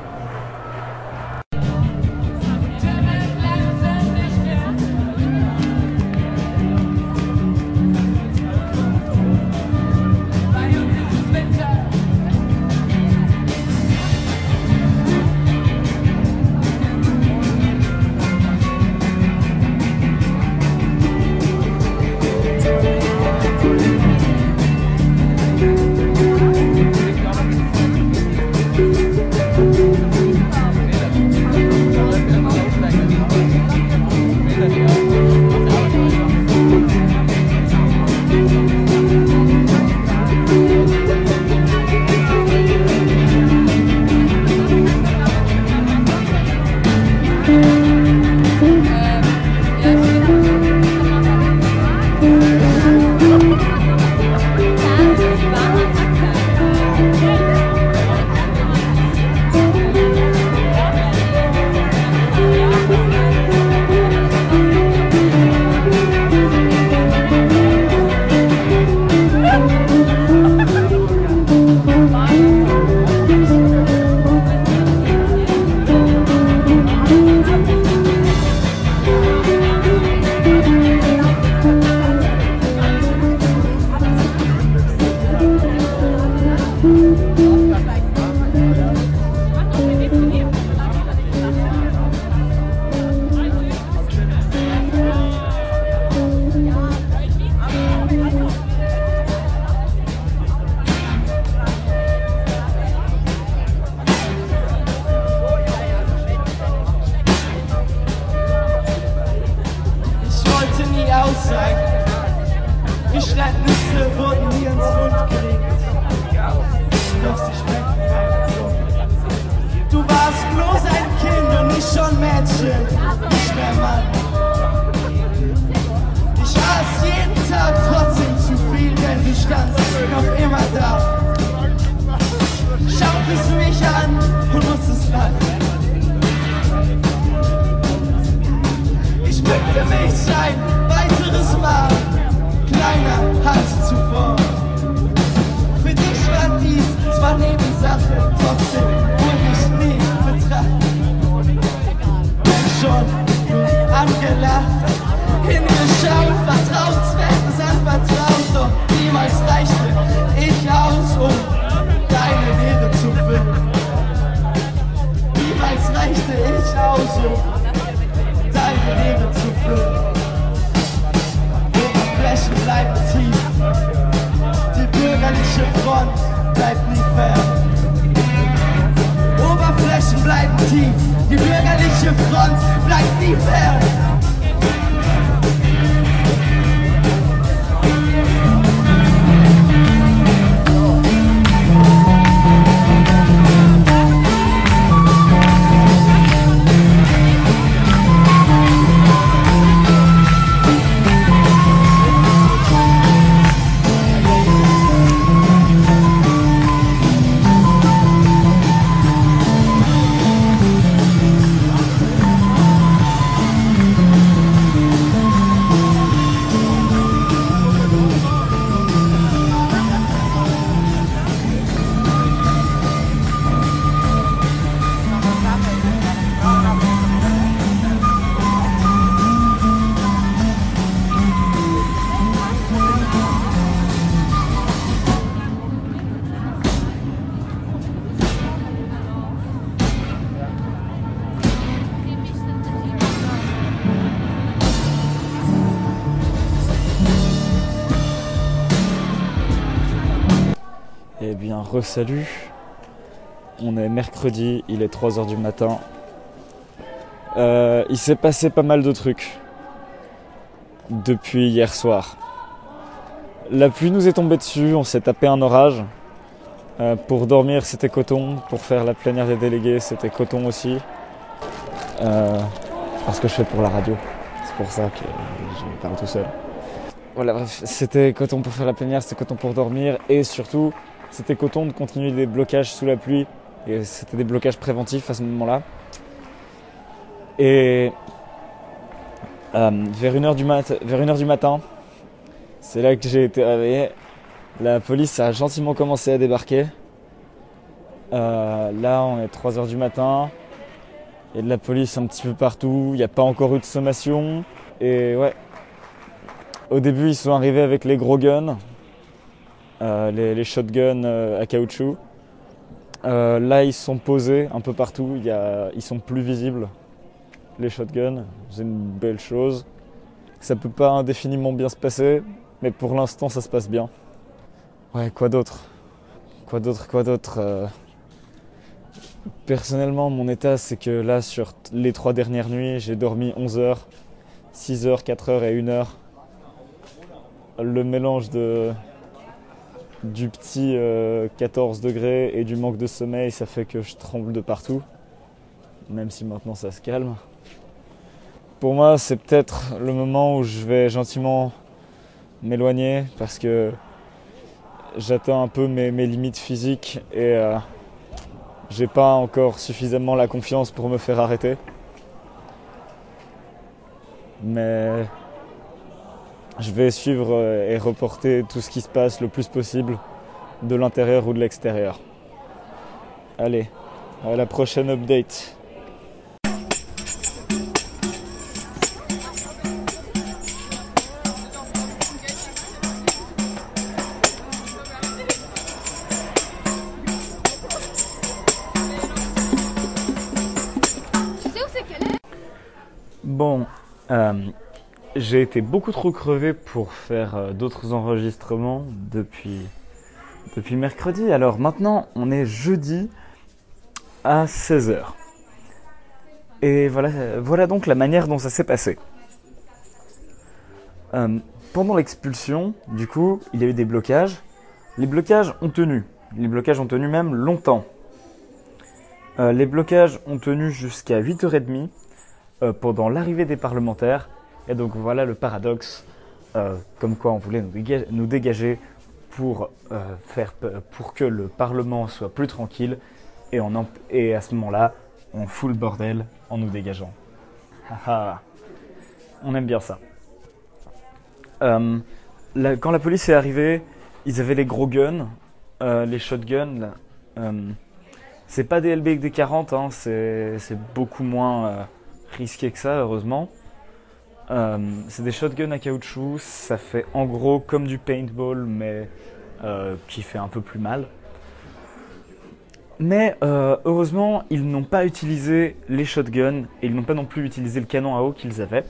Nüsse wurden mir ins Mund gelegt, doch sie schmeckten so. Du warst bloß ein Kind und nicht schon Mädchen, nicht mehr Mann. Ich aß jeden Tag trotzdem zu viel, denn du standst noch immer da. Schautest mich an und musstest lachen. Ich bückte mich ein weiteres Mal, kleiner als zuvor. Für dich war dies zwar Nebensache, trotzdem wurde ich nie betrachtet. Bin schon angelacht, hingeschaut, Vertrauenswertes anvertraut, doch niemals reichte ich aus, um deine Leere zu füllen. Niemals reichte ich aus, um deine Leere zu füllen. Oberflächen bleiben tief, die bürgerliche Front bleibt nie fern. Oberflächen bleiben tief, die bürgerliche Front bleibt nie fern. Eh bien, re-salut. On est mercredi, il est 3h du matin. Il s'est passé pas mal de trucs depuis hier soir. La pluie nous est tombée dessus, on s'est tapé un orage. Pour dormir, c'était coton. Pour faire la plénière des délégués, c'était coton aussi. Parce que je fais pour la radio. C'est pour ça que je parle tout seul. Voilà, bref, c'était coton pour faire la plénière, c'était coton pour dormir. Et surtout, c'était coton de continuer des blocages sous la pluie. Et c'était des blocages préventifs à ce moment-là. Et Vers 1h du matin, c'est là que j'ai été réveillé. La police a gentiment commencé à débarquer. Là, on est 3h du matin. Il y a de la police un petit peu partout. Il n'y a pas encore eu de sommation. Et ouais, au début, ils sont arrivés avec les gros guns, les shotguns à caoutchouc. Là, ils sont posés un peu partout. Ils sont plus visibles, les shotguns. C'est une belle chose. Ça peut pas indéfiniment bien se passer, mais pour l'instant, ça se passe bien. Ouais, quoi d'autre? Personnellement, mon état, c'est que là, sur les 3 dernières nuits, j'ai dormi 11 heures, 6 heures, 4 heures et 1 heure. Le mélange du petit 14 degrés et du manque de sommeil, ça fait que je tremble de partout, même si maintenant ça se calme. Pour moi, c'est peut-être le moment où je vais gentiment m'éloigner parce que j'atteins un peu mes limites physiques et j'ai pas encore suffisamment la confiance pour me faire arrêter. Mais je vais suivre et reporter tout ce qui se passe le plus possible de l'intérieur ou de l'extérieur. Allez, à la prochaine update. Bon, j'ai été beaucoup trop crevé pour faire d'autres enregistrements depuis mercredi. Alors maintenant, on est jeudi à 16h. Et voilà donc la manière dont ça s'est passé. Pendant l'expulsion, du coup, il y a eu des blocages. Les blocages ont tenu. Les blocages ont tenu même longtemps. Les blocages ont tenu jusqu'à 8h30. Pendant l'arrivée des parlementaires. Et donc voilà le paradoxe, comme quoi on voulait nous dégager pour que le Parlement soit plus tranquille. Et à ce moment-là, on fout le bordel en nous dégageant. On aime bien ça. Quand la police est arrivée, ils avaient les gros guns, les shotguns. C'est pas des LB avec des 40, hein, c'est beaucoup moins risqué que ça, heureusement. C'est des shotguns à caoutchouc, ça fait en gros comme du paintball, mais qui fait un peu plus mal. Mais heureusement, ils n'ont pas utilisé les shotguns et ils n'ont pas non plus utilisé le canon à eau qu'ils avaient.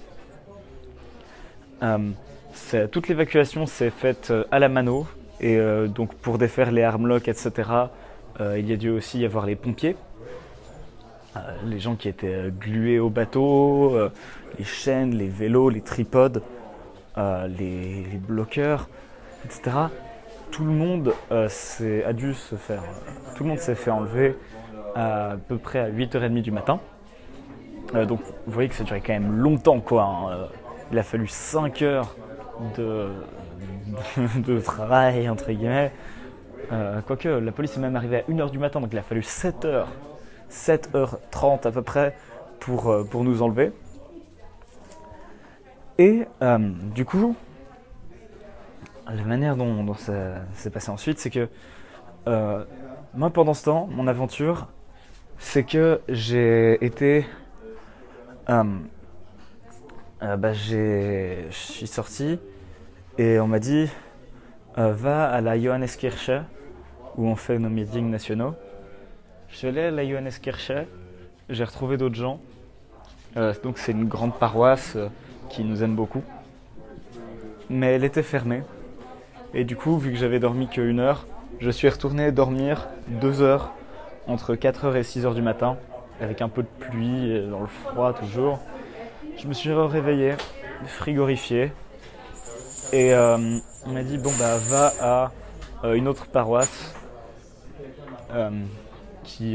Toute l'évacuation s'est faite à la mano et donc pour défaire les armlocks, etc., il y a dû aussi y avoir les pompiers. Les gens qui étaient glués au bateau, les chaînes, les vélos, les tripodes, les bloqueurs, etc. Tout le monde s'est fait enlever à peu près à 8h30 du matin. Donc vous voyez que ça durait quand même longtemps, quoi. Hein. Il a fallu 5 heures de travail, entre guillemets. Quoique la police est même arrivée à 1h du matin, donc il a fallu 7h30 à peu près pour nous enlever. Et du coup, la manière dont ça s'est passé ensuite, c'est que moi pendant ce temps, mon aventure, c'est que j'ai été... je suis sorti et on m'a dit va à la Johanneskirche où on fait nos meetings nationaux. Je suis allé à la Johanneskirche, j'ai retrouvé d'autres gens. Donc c'est une grande paroisse qui nous aime beaucoup. Mais elle était fermée. Et du coup, vu que j'avais dormi que 1 heure, je suis retourné dormir 2 heures entre 4h et 6h du matin, avec un peu de pluie, dans le froid toujours. Je me suis réveillé, frigorifié. Et on m'a dit, bon bah va à une autre paroisse qui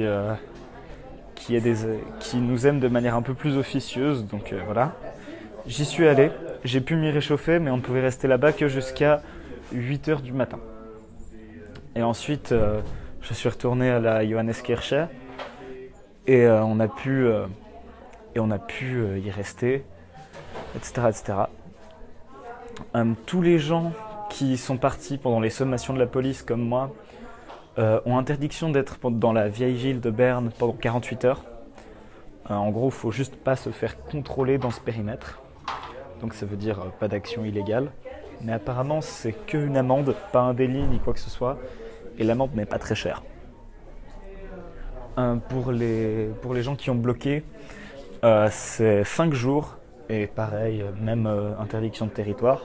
nous aime de manière un peu plus officieuse, donc voilà. J'y suis allé, j'ai pu m'y réchauffer, mais on ne pouvait rester là-bas que jusqu'à 8h du matin. Et ensuite, je suis retourné à la Johanneskirche et on a pu y rester etc. etc. Tous les gens qui sont partis pendant les sommations de la police, comme moi, ont interdiction d'être dans la vieille ville de Berne pendant 48 heures. En gros, il ne faut juste pas se faire contrôler dans ce périmètre. Donc ça veut dire pas d'action illégale. Mais apparemment, c'est qu'une amende, pas un délit ni quoi que ce soit. Et l'amende n'est pas très chère. Pour les gens qui ont bloqué, c'est 5 jours. Et pareil, même interdiction de territoire.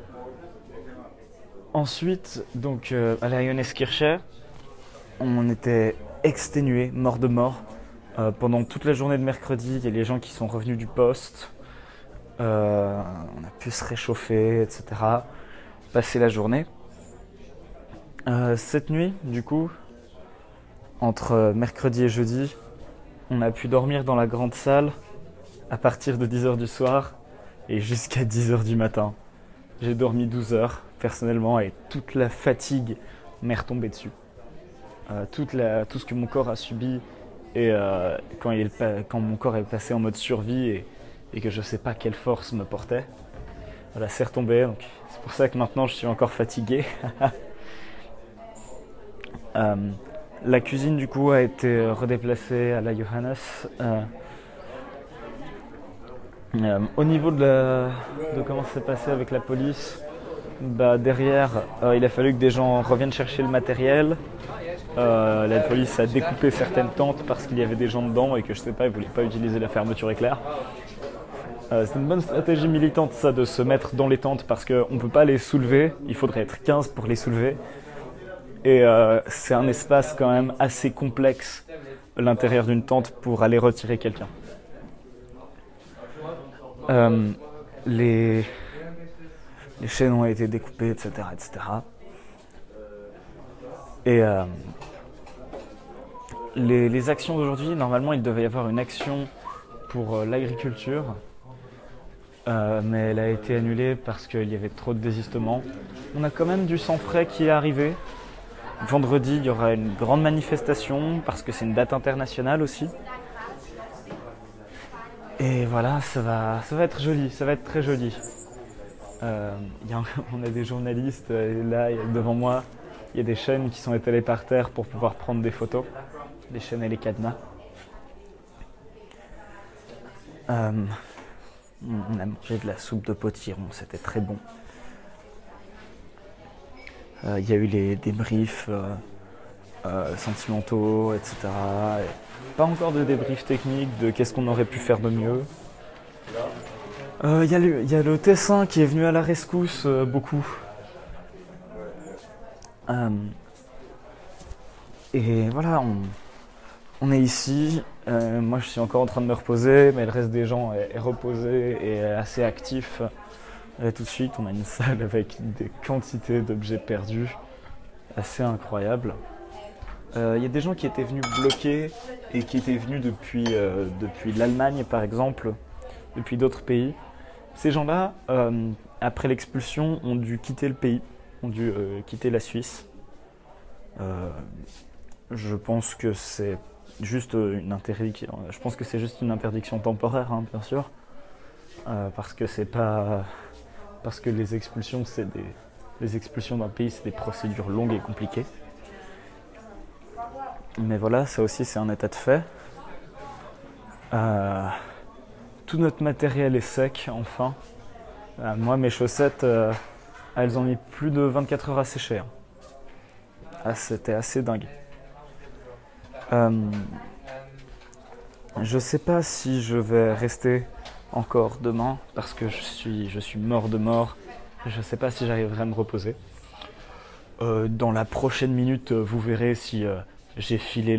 Ensuite, donc à la Johanneskirche, on était exténués, morts de mort. Pendant toute la journée de mercredi, il y a les gens qui sont revenus du poste. On a pu se réchauffer, etc. Passer la journée. Cette nuit, du coup, entre mercredi et jeudi, on a pu dormir dans la grande salle à partir de 10h du soir et jusqu'à 10h du matin. J'ai dormi 12 heures personnellement et toute la fatigue m'est retombée dessus. Tout ce que mon corps a subi et quand mon corps est passé en mode survie et que je ne sais pas quelle force me portait, voilà, c'est retombé. Donc c'est pour ça que maintenant je suis encore fatigué. La cuisine du coup a été redéplacée à la Johannes. Au niveau de comment ça s'est passé avec la police, derrière il a fallu que des gens reviennent chercher le matériel. La police a découpé certaines tentes parce qu'il y avait des gens dedans et que je sais pas, ils voulaient pas utiliser la fermeture éclair. C'est une bonne stratégie militante ça, de se mettre dans les tentes parce qu'on peut pas les soulever, il faudrait être 15 pour les soulever. Et c'est un espace quand même assez complexe, l'intérieur d'une tente, pour aller retirer quelqu'un. Les chaînes ont été découpées, etc. etc. Et les actions d'aujourd'hui, normalement il devait y avoir une action pour l'agriculture, mais elle a été annulée parce qu'il y avait trop de désistements. On a quand même du sang frais qui est arrivé. Vendredi, il y aura une grande manifestation parce que c'est une date internationale aussi. Et voilà, ça va être joli, ça va être très joli. On a des journalistes, et là, devant moi, il y a des chaînes qui sont étalées par terre pour pouvoir prendre des photos. Les chaînes et les cadenas. On a mangé de la soupe de potiron, c'était très bon. Il y a eu des débriefs sentimentaux, etc. Et pas encore de débriefs techniques de qu'est-ce qu'on aurait pu faire de mieux. Il y a le Tessin qui est venu à la rescousse beaucoup. Et voilà, on est ici. Moi, je suis encore en train de me reposer, mais le reste des gens est reposé et assez actif. Et tout de suite, on a une salle avec des quantités d'objets perdus, assez incroyables. Il y a des gens qui étaient venus bloquer et qui étaient venus depuis l'Allemagne, par exemple, depuis d'autres pays. Ces gens-là, après l'expulsion, ont dû quitter le pays, ont dû quitter la Suisse. Je pense que c'est juste une interdiction temporaire, hein, bien sûr, parce que les expulsions, les expulsions d'un pays, c'est des procédures longues et compliquées. Mais voilà, ça aussi c'est un état de fait. Tout notre matériel est sec, enfin. Moi, mes chaussettes, elles ont mis plus de 24 heures à sécher. Hein. Ah, c'était assez dingue. Je sais pas si je vais rester encore demain parce que je suis mort de mort. Je sais pas si j'arriverai à me reposer. Dans la prochaine minute, vous verrez si j'ai filé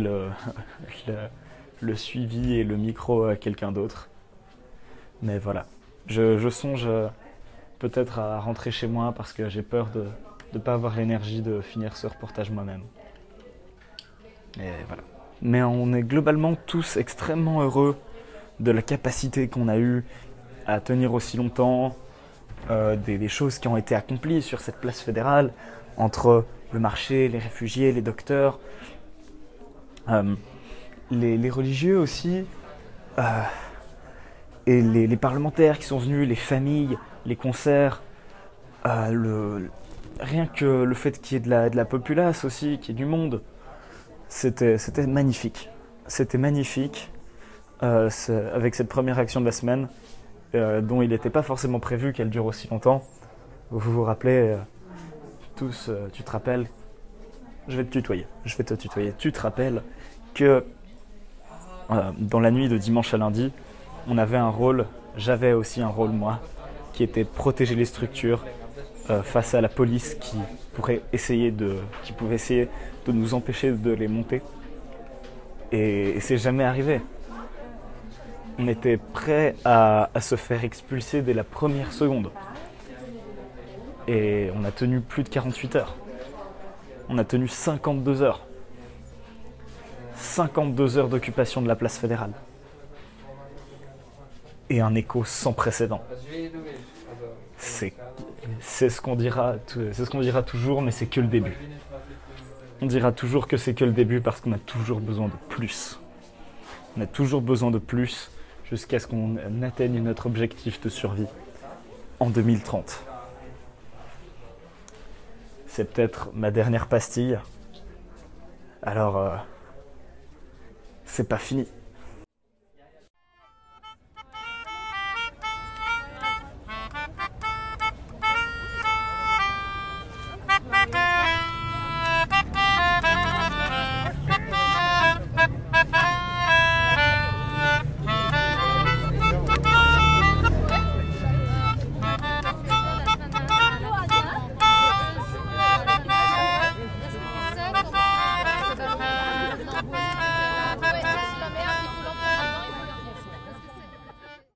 le suivi et le micro à quelqu'un d'autre. Mais voilà, je songe peut-être à rentrer chez moi parce que j'ai peur de ne pas avoir l'énergie de finir ce reportage moi-même. Et voilà. Mais on est globalement tous extrêmement heureux de la capacité qu'on a eue à tenir aussi longtemps, des choses qui ont été accomplies sur cette place fédérale, entre le marché, les réfugiés, les docteurs, les religieux aussi. Et les parlementaires qui sont venus, les familles, les concerts, rien que le fait qu'il y ait de la populace aussi, qu'il y ait du monde, c'était magnifique. C'était magnifique avec cette première action de la semaine, dont il n'était pas forcément prévu qu'elle dure aussi longtemps. Vous vous rappelez tous, tu te rappelles, je vais te tutoyer. Tu te rappelles que dans la nuit de dimanche à lundi, on avait un rôle, j'avais aussi un rôle moi, qui était protéger les structures face à la police qui pouvait essayer de nous empêcher de les monter. Et c'est jamais arrivé. On était prêt à se faire expulser dès la première seconde. Et on a tenu plus de 48 heures. On a tenu 52 heures. 52 heures d'occupation de la place fédérale. Et un écho sans précédent. C'est ce qu'on dira toujours, mais c'est que le début. On dira toujours que c'est que le début parce qu'on a toujours besoin de plus. On a toujours besoin de plus jusqu'à ce qu'on atteigne notre objectif de survie en 2030. C'est peut-être ma dernière pastille. Alors, c'est pas fini.